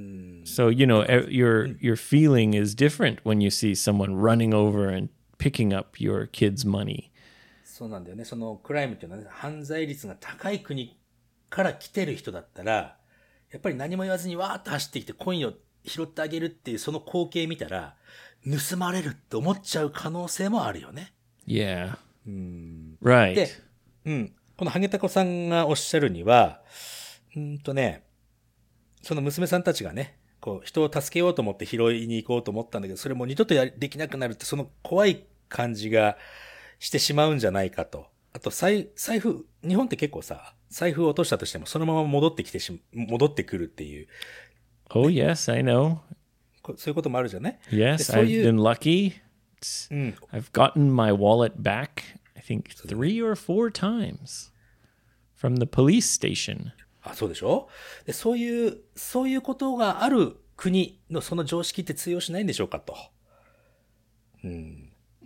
Speaker 1: So, you know, e- your your feeling is different when you see someone running over and picking up your kid's money.
Speaker 2: そうなんだよね。そのクライムっていうのはね、犯罪率が高い国から来てる人だったら、やっぱり何も言わずにわーっと走ってきてコインを拾ってあげるっていうその光景見たら、盗まれるって思っちゃう可能性もあるよね。
Speaker 1: Yeah.
Speaker 2: うん。
Speaker 1: Right.
Speaker 2: で、うん。このハゲタコさんがおっしゃるには、うんとね、その娘さんたちがね、こう、人を助けようと思って拾いに行こうと思ったんだけど、それも二度とやりできなくなるって、その怖い感じがしてしまうんじゃないかと。あと、財、財布、日本って結構さ、財布を落としたとしても、そのまま戻ってきてし、戻ってくるっていう、
Speaker 1: Oh, yes, I know.
Speaker 2: こそういうこともあるじゃない？
Speaker 1: Yes,
Speaker 2: でそう
Speaker 1: I've
Speaker 2: いう、
Speaker 1: been lucky. It's-
Speaker 2: うん。
Speaker 1: I've gotten my wallet back, I think, three or four times from the police station.
Speaker 2: あ、そうでしょ？で、そういう、そういうことがある国のその常識って通用しないんでしょうかと。うん。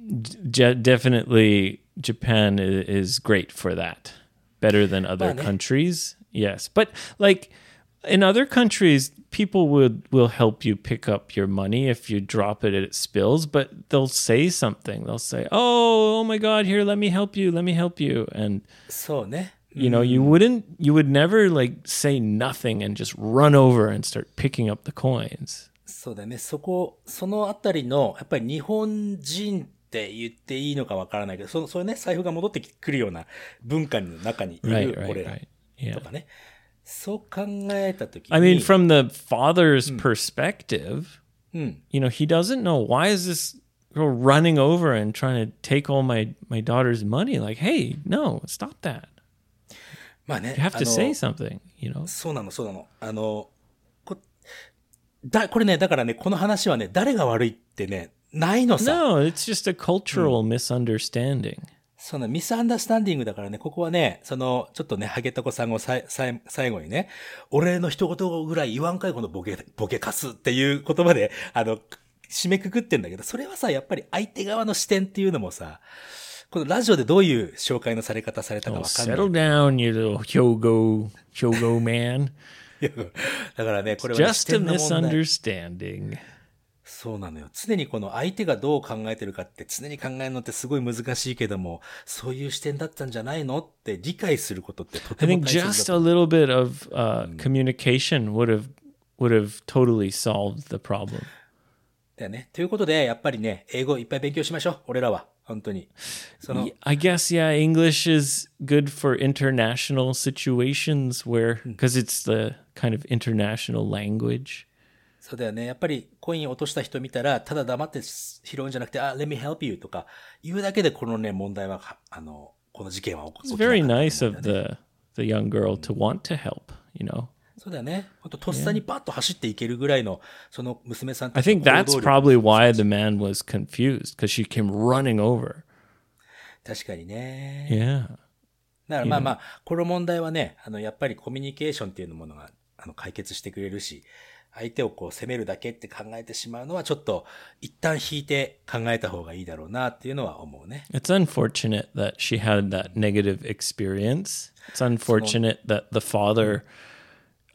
Speaker 1: Je- definitely, Japan i- is great for that. Better than other
Speaker 2: Well, ne-
Speaker 1: countries. Yes. But like in other countries, people would will help you pick up your money if you drop it and it spills, but they'll say something. They'll say, "Oh, oh my God, here, let me help you, let me help you." And
Speaker 2: そうね。
Speaker 1: you know, you wouldn't, you would never like say nothing and just run over and start picking up the coins.
Speaker 2: そうだね。そこ、そのあたりの、やっぱり日本人って言っていいのかわからないけど、そそういうね、財布が戻ってくるような文化の中にい
Speaker 1: Right,
Speaker 2: る
Speaker 1: right,
Speaker 2: 俺ら
Speaker 1: right. Yeah.
Speaker 2: とかね。そう考えたときに。
Speaker 1: I mean, from the father's perspective,
Speaker 2: うん。
Speaker 1: you know, he doesn't know, why is this girl running over and trying to take all my, my daughter's money? Like, hey, no, stop that.
Speaker 2: まあね。
Speaker 1: You have
Speaker 2: あ
Speaker 1: to
Speaker 2: の
Speaker 1: say something, you know?
Speaker 2: そうなの、そうなの。あの、こ、だ、これね、だからね、この話はね、誰が悪いってね、ないのさ。
Speaker 1: No, it's just a cultural misunderstanding.
Speaker 2: そのミスアンダースタンディングだからね、ここはね、その、ちょっとね、ハゲタコさんをさい、さい、最後にね、俺の一言ぐらい言わんかいこのボケ、ボケかすっていう言葉で、あの、締めくくってんだけど、それはさ、やっぱり相手側の視点っていうのもさ、このラジオでどういう紹介のされ方されたか
Speaker 1: Oh,
Speaker 2: わかんない。
Speaker 1: settle down, you little Hyogo, Hyogo man.
Speaker 2: だからね、これはね、視
Speaker 1: Just a
Speaker 2: 点の問題。
Speaker 1: misunderstanding.
Speaker 2: そうなのよ。常にこの相手がどう考えてるかって常に考えるのってすごい難しいけども、そういう視点だったんじゃないのって理解することってと
Speaker 1: I
Speaker 2: ても
Speaker 1: think
Speaker 2: 大切
Speaker 1: just
Speaker 2: だ
Speaker 1: a
Speaker 2: と。
Speaker 1: little bit of uh, communication would have would have totally solved the problem.
Speaker 2: だよね。ということで、やっぱりね、英語いっぱい勉強しましょう。俺らは。本当に。その
Speaker 1: Y- I guess yeah, English is good for international situations where because it's the kind of international language.
Speaker 2: そうだよね。やっぱりコイン落とした人見たら、ただ黙って拾うんじゃなくて、あ、let me help you とか言うだけでこのね、問題は、あの、この事件は起こ
Speaker 1: It's
Speaker 2: 起きなか
Speaker 1: very
Speaker 2: ったと思うんだよ
Speaker 1: nice
Speaker 2: ね
Speaker 1: of the the young girl to want to help, you know.
Speaker 2: そうだよね。ほんと、とっさにパッと走っていけるぐらいの、その娘さん
Speaker 1: I
Speaker 2: たちの
Speaker 1: think
Speaker 2: 行
Speaker 1: that's
Speaker 2: 動力
Speaker 1: probably why the man was confused because she came running over.
Speaker 2: 確かにね。
Speaker 1: Yeah.
Speaker 2: だからまあまあ、この問題はね、あの、やっぱりコミュニケーションっていうものが、あの、解決してくれるし、相手をこう責めるだけって考えてしまうのは、ちょっと、一旦引いて考えた方がいいだろうなっていうのは思うね。
Speaker 1: It's unfortunate that she had that negative experience. It's unfortunate that the father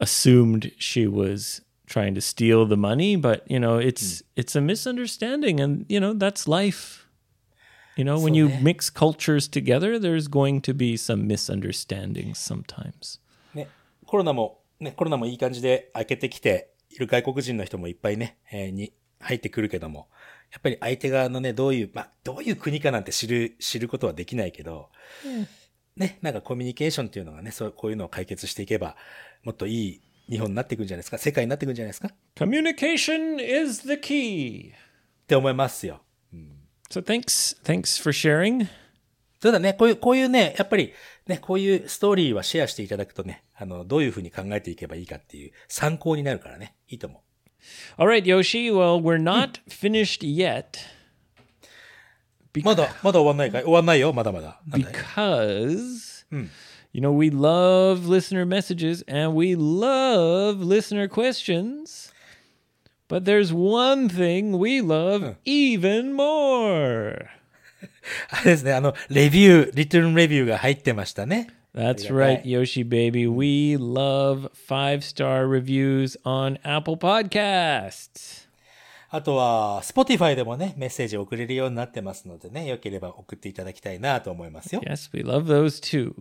Speaker 1: assumed she was trying to steal the money, but you know, it's it's a misunderstanding, and you know, that's life. You know, when you mix cultures together, there's going to be some misunderstandings sometimes.
Speaker 2: ね、コロナも、ね、コロナもいい感じで明けてきている外国人の人もいっぱいね、えー、に入ってくるけども、やっぱり相手側のね、どういう、まあ、どういう国かなんて知る、知ることはできないけど、うん、ね、なんかコミュニケーションっていうのがね、そう、こういうのを解決していけば、もっといい日本になっていくんじゃないですか、世界になっていくんじゃないですか。
Speaker 1: Communication is the key.
Speaker 2: って思いますよ。うん、
Speaker 1: So thanks, thanks for sharing.
Speaker 2: そうだね、こういう、こういうね、やっぱりね、こういうストーリーはシェアしていただくとね、あの、どういうふうに考えていけばいいかっていう参考になるからね、いいと思う。
Speaker 1: All right, Yoshi. Well, we're not finished yet.
Speaker 2: まだ、まだ終わんないかい？終わんないよ、まだまだ。
Speaker 1: Because, you know, we love listener messages and we love listener questions. But there's one thing we love even more.
Speaker 2: あれですね、あの、レビュー、リトルレビューが入ってましたね。
Speaker 1: That's right, Yoshi baby. We love five-star reviews on Apple Podcasts.
Speaker 2: あとは、Spotify でもね、メッセージを送れるようになってますのでね、よければ送っていただきたいなと思いますよ。
Speaker 1: Yes, we love those too.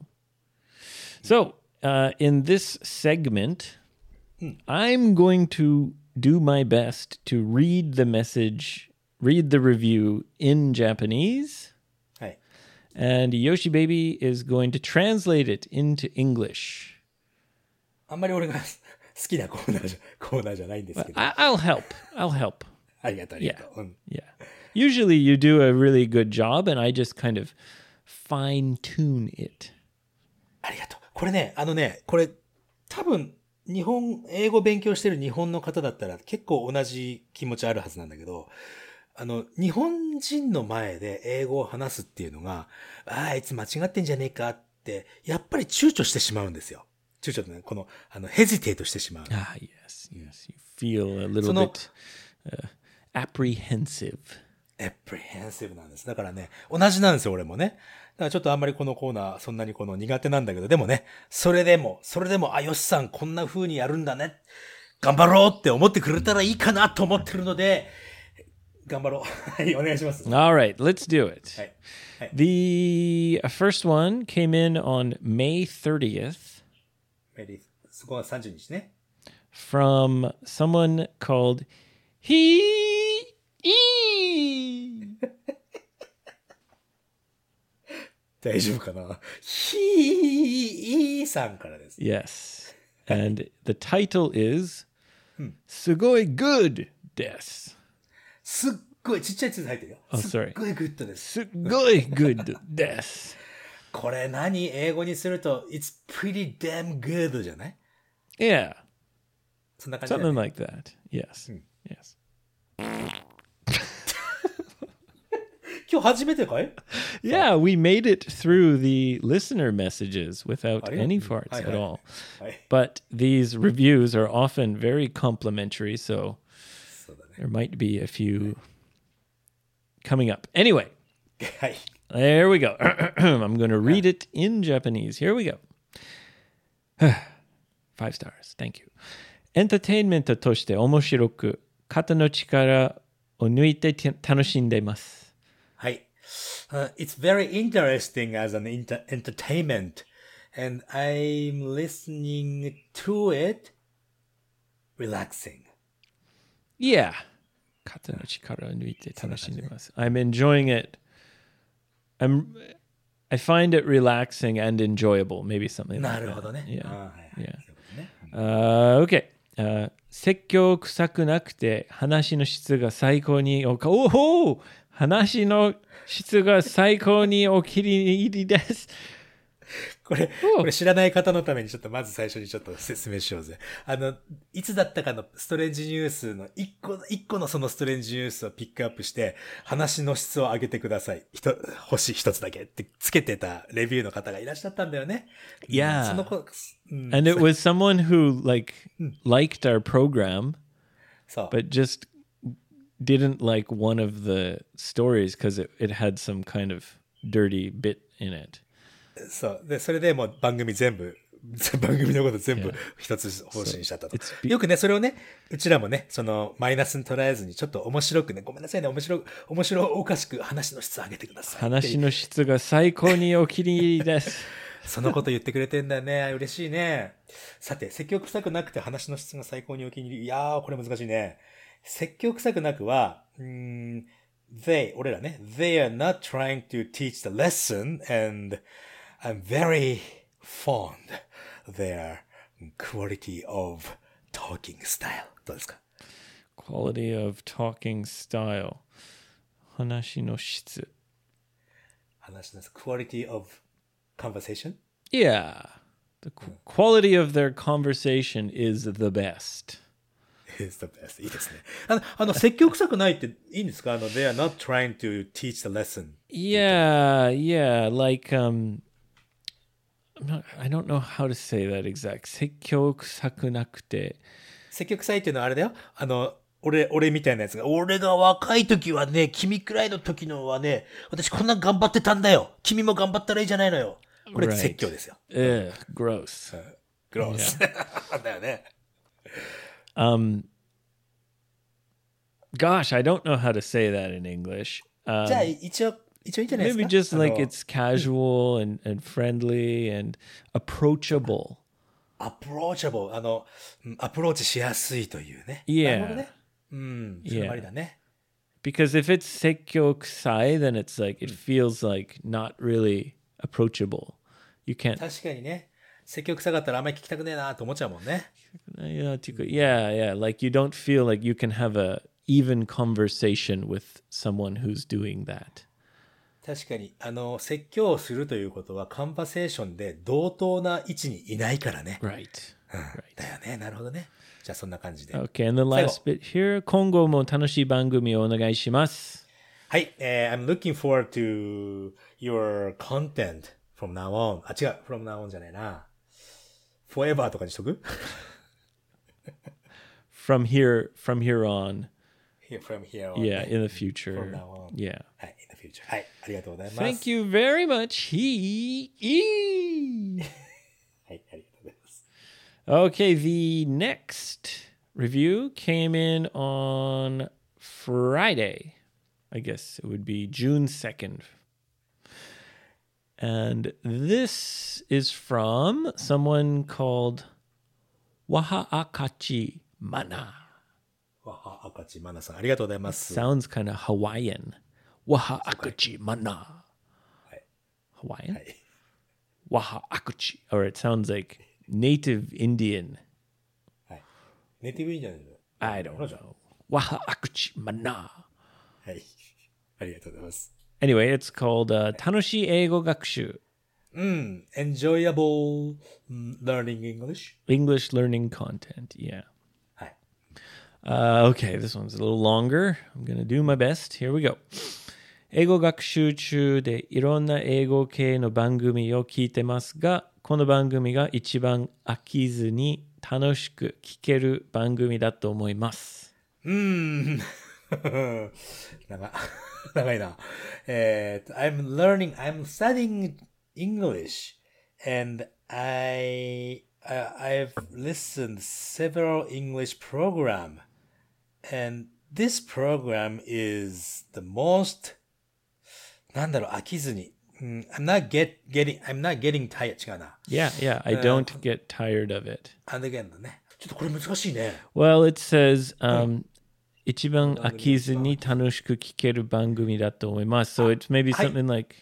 Speaker 1: So, uh, in this segment, I'm going to do my best to read the message, read the review in Japanese.
Speaker 2: はい。
Speaker 1: And Yoshi Baby is going to translate it into English.
Speaker 2: あんまり俺が好きなコーナーじゃ、コーナーじゃないんですけど。
Speaker 1: I- I'll help. I'll help.
Speaker 2: ありがとう、ありがとう。うん、
Speaker 1: Yeah. Usually you do a really good job and I just kind of fine tune it.
Speaker 2: ありがとう。これね、あのね、これ多分日本、英語勉強してる日本の方だったら結構同じ気持ちあるはずなんだけど、あの、日本人の前で英語を話すっていうのが、ああ、いつ間違ってんじゃねえかって、やっぱり躊躇してしまうんですよ。躊躇ってね、この、あの、ヘジテートしてしまう。
Speaker 1: Ah, yes, yes. You feel a little bit uh, apprehensive.
Speaker 2: apprehensive なんです。だからね、同じなんですよ、俺もね。だからちょっとあんまりこのコーナー、そんなにこの苦手なんだけど、でもね、それでも、それでも、あ、よしさん、こんな風にやるんだね。頑張ろうって思ってくれたらいいかなと思ってるので、頑張ろう。はい、お願いします。
Speaker 1: All right, let's do it.
Speaker 2: はい。はい、
Speaker 1: The first one came in on May thirtieth.
Speaker 2: メリー、そこがさんじゅうにちね。
Speaker 1: From someone called He E.
Speaker 2: 大丈夫かな？ひーさんからです。
Speaker 1: Yes. And the title is すごい good です。
Speaker 2: すっごいちっちゃい字入ってるよ。
Speaker 1: Oh,
Speaker 2: すっ
Speaker 1: sorry.
Speaker 2: ごいグッドです。
Speaker 1: すごい good です。
Speaker 2: これ何？英語にすると It's pretty damn good じゃない？
Speaker 1: Yeah.
Speaker 2: そんな感じだね。
Speaker 1: Something like that. Yes. Yes.
Speaker 2: 今日初めてかい？
Speaker 1: Yeah, we made it through the listener messages without any farts
Speaker 2: Hi,
Speaker 1: at
Speaker 2: hi.
Speaker 1: all.
Speaker 2: Hi.
Speaker 1: But these reviews are often very complimentary, so
Speaker 2: そうだね。
Speaker 1: there might be a few coming up. Anyway,
Speaker 2: はい。
Speaker 1: there we go. I'm going to read it in Japanese. Here we go. Five stars. Thank you. エンターテインメントとして面白く、肩の力を抜いて楽しんでいます。
Speaker 2: はい。Uh, it's very interesting as an inter- entertainment, and I'm listening to it relaxing.
Speaker 1: Yeah. 肩の力を抜いて楽しんでいます。I'm enjoying it. I'm, I find it relaxing and enjoyable. Maybe something like that.
Speaker 2: なるほどね。
Speaker 1: Yeah.
Speaker 2: あーはいはい
Speaker 1: Yeah.
Speaker 2: そういうことね。
Speaker 1: Uh, okay. Uh, 説教臭くなくて話の質が最高におか、おお話の質が最高にお気に入りです。
Speaker 2: これ、これ知らない方のためにちょっとまず最初にちょっと説明しようぜ。あの、いつだったかのストレンジニュースの一個、一個のそのストレンジニュースをピックアップして、話の質を上げてください。ひと、星一つだけってつけてたレビューの方がいらっしゃったんだよね。
Speaker 1: Yeah.
Speaker 2: その子、うん、
Speaker 1: And it was someone who like liked our program,
Speaker 2: そう。
Speaker 1: but just didn't like one of the stories because it, it had some kind of dirty bit in it.
Speaker 2: そう。で、それでもう番組全部番組のこと全部一つ方針にしちゃったと。
Speaker 1: it's be-
Speaker 2: よくね、それをね、うちらもね、その、マイナスに捉えずに、ちょっと面白くね、ごめんなさいね、面白、面白おかしく話の質を上げてください。
Speaker 1: 話の質が最高にお気に入りです。
Speaker 2: そのこと言ってくれてんだよね。嬉しいね。さて、説教臭くなくて話の質が最高にお気に入り。いやー、これ難しいね。説教臭くなくは、うーん、they, 俺らね、they are not trying to teach the lesson and I'm very fond their quality of talking style. どうですか？
Speaker 1: Quality of talking style. 話の質。
Speaker 2: 話の quality of conversation?
Speaker 1: Yeah. The qu- quality of their conversation is the best.
Speaker 2: is the best. いいですね。あの、あの説教臭くないっていいんですか？あの、they are not trying to teach the lesson.
Speaker 1: Yeah, yeah. Like, um, I'm not, I don't know how to say that exact. 説教臭くなくて。
Speaker 2: 説教臭いっていうのはあれだよ。あの、俺、俺みたいなやつが、俺が若い時はね、君くらいの時のはね、私こんな頑張ってたんだよ。君も頑張ったらいいじゃないのよ。これ
Speaker 1: Right.
Speaker 2: 説教ですよ。
Speaker 1: Ugh, gross.
Speaker 2: グロース。だよね。
Speaker 1: Um, gosh, I don't know how to say that in English.
Speaker 2: じゃあ、
Speaker 1: Um,
Speaker 2: 一応、一応いいんじゃないですか？
Speaker 1: maybe just
Speaker 2: あの
Speaker 1: like it's casual and, and friendly and approachable.
Speaker 2: アプローチャブル、あの、うんアプローチしやすいというね。
Speaker 1: Yeah.
Speaker 2: なるほどね。うん、それもありだね。
Speaker 1: Because if it's 説教臭い, then it's like, it feels like not really approachable. You can't.
Speaker 2: 確かにね。説教臭かったらあんまり聞きたくねえなと思っちゃうもんね。
Speaker 1: Yeah, yeah, like you don't feel like you can have a even conversation with someone who's doing that.
Speaker 2: 確かに、あの、説教をするということは、カンバセーションで同等な位置にいないからね。
Speaker 1: Right.
Speaker 2: だよね。なるほどね。じゃあ、そんな感じで。
Speaker 1: Okay, and the last bit here. 今後も楽しい番組をお願いします。
Speaker 2: はい、えー、I'm looking forward to your content from now on. あ、違う。from now on じゃないな。forever とかにしとく？
Speaker 1: From here, from here on.
Speaker 2: Here, from here on.
Speaker 1: Yeah, in the future.
Speaker 2: From now on.
Speaker 1: Yeah.
Speaker 2: はい、in the future. はい、ありがとうございます。
Speaker 1: Thank you very much. He. E.
Speaker 2: はい、ありがとうございます。
Speaker 1: Okay, the next review came in on Friday. I guess it would be June second. And this is from someone called Wahaakachi Mana.
Speaker 2: わは、赤地まなさん、ありがとうございます。
Speaker 1: Sounds kind of Hawaiian. Wahaakachi Mana. Hawaiian?
Speaker 2: はい。
Speaker 1: Wahaakachi. Or it sounds like native Indian.
Speaker 2: はい。ネイティブいいんじゃないの？
Speaker 1: I don't know. Wahaakachi Mana.
Speaker 2: はい。ありがとうございます。
Speaker 1: Anyway, it's called uh, 楽しい英語学習.
Speaker 2: うん。enjoyable learning English.
Speaker 1: English learning content. Yeah.
Speaker 2: はい。
Speaker 1: Uh, okay, this one's a little longer. I'm going to do my best. Here we go. 英語学習中でいろんな英語系の番組を聞いてますが、この番組が一番飽きずに楽しく聞ける番組だと思います。
Speaker 2: うーん。長長いな。えーと、I'm learning, I'm studying English and I, I, I've listened several English program and this program is the most なんだろう、飽きずに。Mm, I'm not get, getting, I'm not getting tired. 違うな。
Speaker 1: Yeah, yeah, I don't get tired of it.
Speaker 2: And again だね。ちょっとこれ難しいね。
Speaker 1: Well, it says, um, 一番飽きずに楽しく聞ける番組だと思います。So it's maybe something like,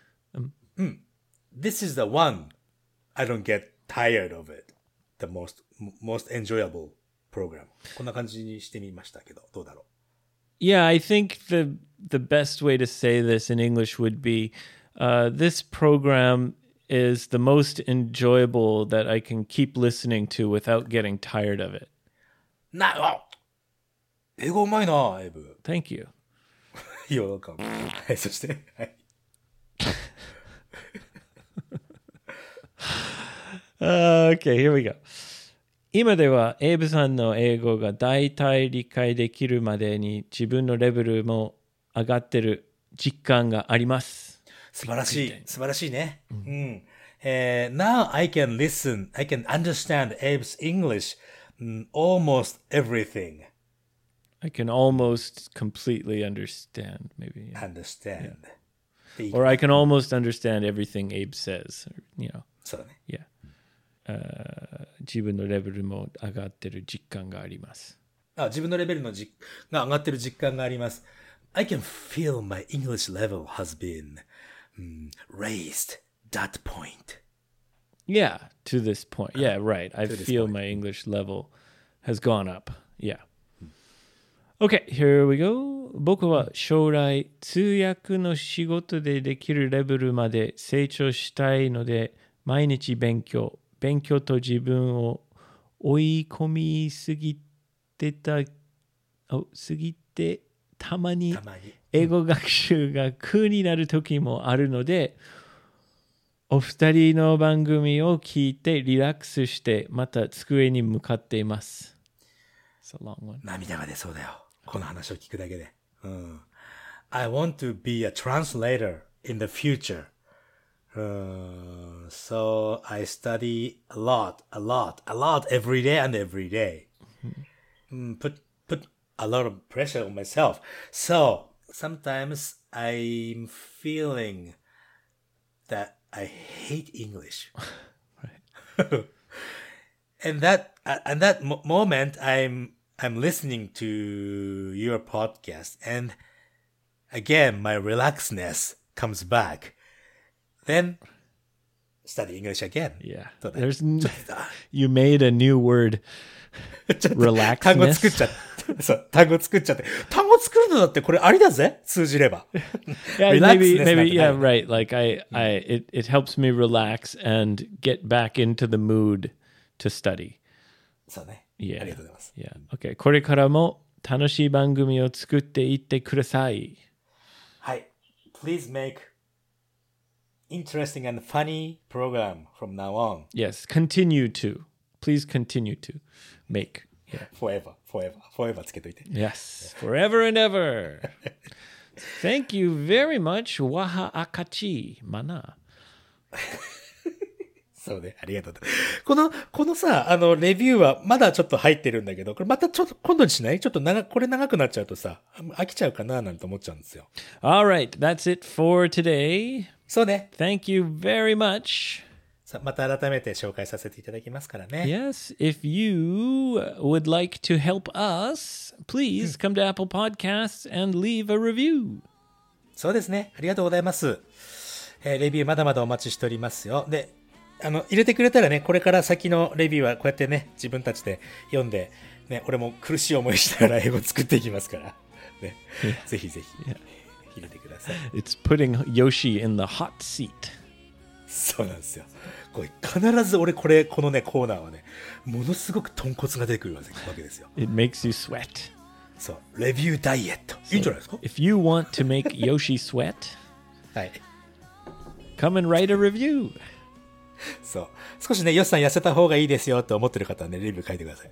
Speaker 2: This is the one I don't get tired of it. The most, most enjoyable program. こんな感じにしてみましたけど、どうだろう。
Speaker 1: yeah, I think the the best way to say this in English would be, uh, this program is the most enjoyable that I can keep listening to without getting tired of it.
Speaker 2: な、あ英語うまいな、エイブ。
Speaker 1: Thank you.
Speaker 2: You're welcome. はい、そして、はい。
Speaker 1: Uh, okay, here we go. 今ではエイブさんの英語が大体理解できるまでに自分のレベルも上がってる実感があります。
Speaker 2: 素晴らしい。素晴らしいね。うん。 Uh, now I can listen, I can understand Abe's English mm, almost everything.
Speaker 1: I can almost completely understand, maybe. Yeah.
Speaker 2: Understand.
Speaker 1: Or I can almost understand everything Abe says. Or, you know.
Speaker 2: そうだね。
Speaker 1: Yeah. Uh, 自分のレベルも上がってる実感があります。
Speaker 2: あ、自分のレベルのじが上がってる実感があります。I can feel my English level has been mm, raised that point.
Speaker 1: Yeah, to this point. Yeah, right. I
Speaker 2: this
Speaker 1: feel
Speaker 2: point.
Speaker 1: my English level has gone up. Yeah. Okay, here we go. 僕は将来通訳の仕事でできるレベルまで成長したいので毎日勉強。勉強と自分を追い込みすぎてた、おすぎてたまに
Speaker 2: たまに。
Speaker 1: 英語学習が苦になる時もあるので、お二人の番組を聞いてリラックスしてまた机に向かっています。It's a long one.
Speaker 2: 涙が出そうだよ。この話を聞くだけで。うん。I want to be a translator in the future. Uh, so I study a lot, a lot, a lot every day and every day. Mm, put, put a lot of pressure on myself. So sometimes I'm feeling that I hate English. and that, uh, and that mo- moment I'm, I'm listening to your podcast and again, my relaxedness comes back. Then study English again.
Speaker 1: Yeah.
Speaker 2: そうだね
Speaker 1: There's n- you made a new word.
Speaker 2: ちょっと単語作っ
Speaker 1: Relaxedness.
Speaker 2: ちゃって。そう、単語作っちゃって。単語作るのだってこれありだぜ通じれば。
Speaker 1: Yeah, maybe,
Speaker 2: Relaxedness
Speaker 1: maybe,
Speaker 2: なんて
Speaker 1: yeah,
Speaker 2: ない
Speaker 1: right. Like I, I, it, it helps me relax and get back into the mood to study.
Speaker 2: そうね。
Speaker 1: Yeah.
Speaker 2: ありがとうございます。
Speaker 1: Yeah. Okay. これからも楽しい番組を作っていってください。
Speaker 2: はい。Please make interesting and funny program from now on.
Speaker 1: Yes. Continue to. Please continue to make. Yeah.
Speaker 2: Forever, forever, forever つけといて。
Speaker 1: Yes. Forever and ever. Thank you very much. Waha akachi. Mana.
Speaker 2: そうね。ありがとう。この、このさ、あの、レビューはまだちょっと入ってるんだけど、これまたちょっと今度にしない？ちょっと長、これ長くなっちゃうとさ、飽きちゃうかななんて思っちゃうんですよ。
Speaker 1: All right. That's it for today.
Speaker 2: そうね。
Speaker 1: Thank you very much.
Speaker 2: さまた改めて紹介させていただきますからね。
Speaker 1: Yes, if you would like to help us, please come to Apple Podcasts and leave a review.
Speaker 2: そうですね。ありがとうございます。えーレビューまだまだお待ちしておりますよ。で、あの、入れてくれたらね、これから先のレビューはこうやってね、自分たちで読んで、ね、俺も苦しい思いしながら英語作っていきますから。ね、ぜひぜひ、入れてください。
Speaker 1: It's putting Yoshi in the hot seat.
Speaker 2: そうなんですよ。これ必ず俺これ、このね、コーナーはね、ものすごく豚骨が出てくるわけですよ。
Speaker 1: It makes you sweat.
Speaker 2: そう、レビューダイエット。いいんじゃないですか？
Speaker 1: If you want to make Yoshi sweat,
Speaker 2: はい。
Speaker 1: come and write a review.
Speaker 2: そう。少しね、ヨシさん痩せた方がいいですよって思ってる方はね、レビュー書いてください。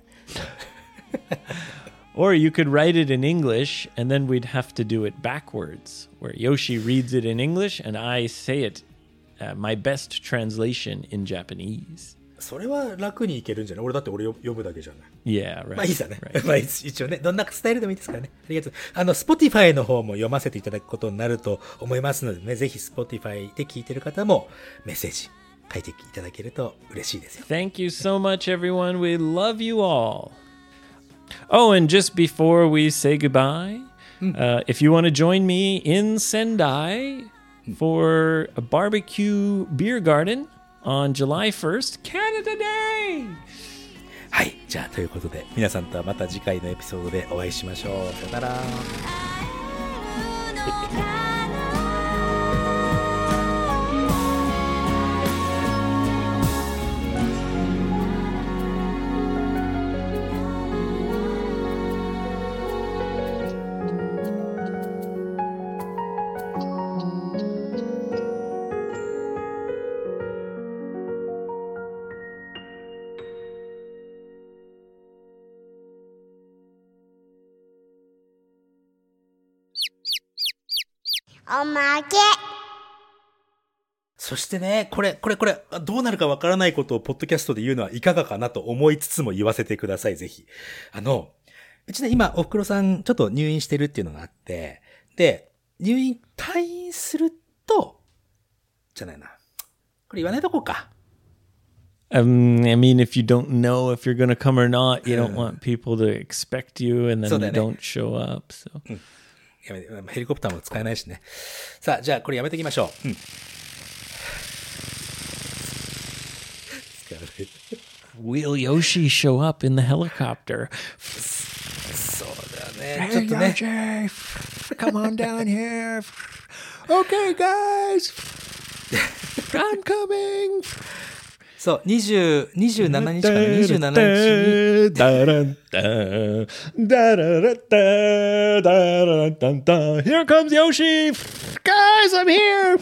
Speaker 1: Or you could write it in English, and then we'd have to do it backwards, where Yoshi reads it in English and I say it, uh, my best translation in Japanese.
Speaker 2: それは楽にいけるんじゃない？俺だって俺読むだけじゃない。
Speaker 1: Yeah, right.
Speaker 2: まあいいさね。
Speaker 1: right.
Speaker 2: まあ一応ね、どんなスタイルでもいいですからね。ありがとう。あの、Spotify の方も読ませていただくことになると思いますのでね、ぜひ Spotify で聞いてる方もメッセージ書いていただけると嬉しいですよ。
Speaker 1: Thank you so much, everyone. We love you all. Oh, and just before we say goodbye, uh, if you want to join me in Sendai for a barbecue beer garden on July first, Canada Day!
Speaker 2: はい。じゃあ、ということで、皆さんとはまた次回のエピソードでお会いしましょう。さよなら。
Speaker 4: おまけ。
Speaker 2: そしてね、これ、これ、これ、どうなるかわからないことをポッドキャストで言うのはいかがかなと思いつつも言わせてください、ぜひ。あの、うちね、今、おふくろさん、ちょっと入院してるっていうのがあって、で、入院、退院すると、じゃないな。これ言わないとこうか。
Speaker 1: Um, I mean, if you don't know if you're going to come or not, you don't want people to expect you and then you don't show up. So.
Speaker 2: やめて、ヘリコプターも使えないしね。さあ、じゃあこれやめていきましょう。うん。
Speaker 1: Will Yoshi show up in the helicopter?
Speaker 2: そうだよね。ちょっとね。
Speaker 1: Yoshi, come on down here. Okay, guys. I'm coming.
Speaker 2: そう、にじゅう、にじゅうしちにちかな、にじゅうしちにちに。
Speaker 1: ダランダダララダダランダンダ Here comes Yoshi! Guys, I'm here!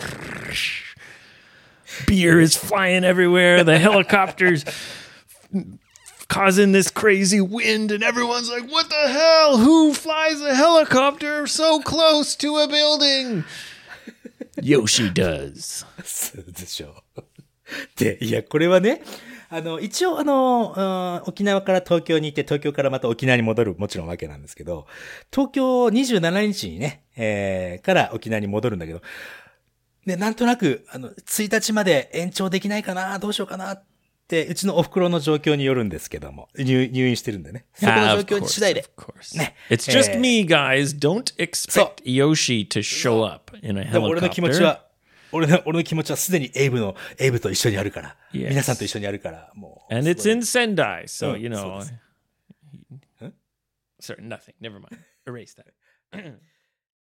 Speaker 1: Beer is flying everywhere. The helicopter's causing this crazy wind, and everyone's like, what the hell? Who flies a helicopter so close to a building? Yoshi does.
Speaker 2: そうでしょう。で、いや、これはね、あの、一応、あの、沖縄から東京に行って、東京からまた沖縄に戻る、もちろんわけなんですけど、東京にじゅうしちにちにね、えー、から沖縄に戻るんだけど、で、なんとなく、あの、ついたちまで延長できないかな、どうしようかなって、うちのお袋の状況によるんですけども、入入院してるんでね。そこの状況に次第で。
Speaker 1: ね。It's just me, guys. Don't expect Yoshi to show up in a helicopter.
Speaker 2: 俺の気持ちは、俺の、俺の気持ちはすでにエイブの、エイブと一緒にあるから。
Speaker 1: Yes.
Speaker 2: 皆さんと一緒にあるから、もう。
Speaker 1: And it's in Sendai, so, you know.
Speaker 2: Huh?
Speaker 1: Sorry, nothing. Never mind. Erase that.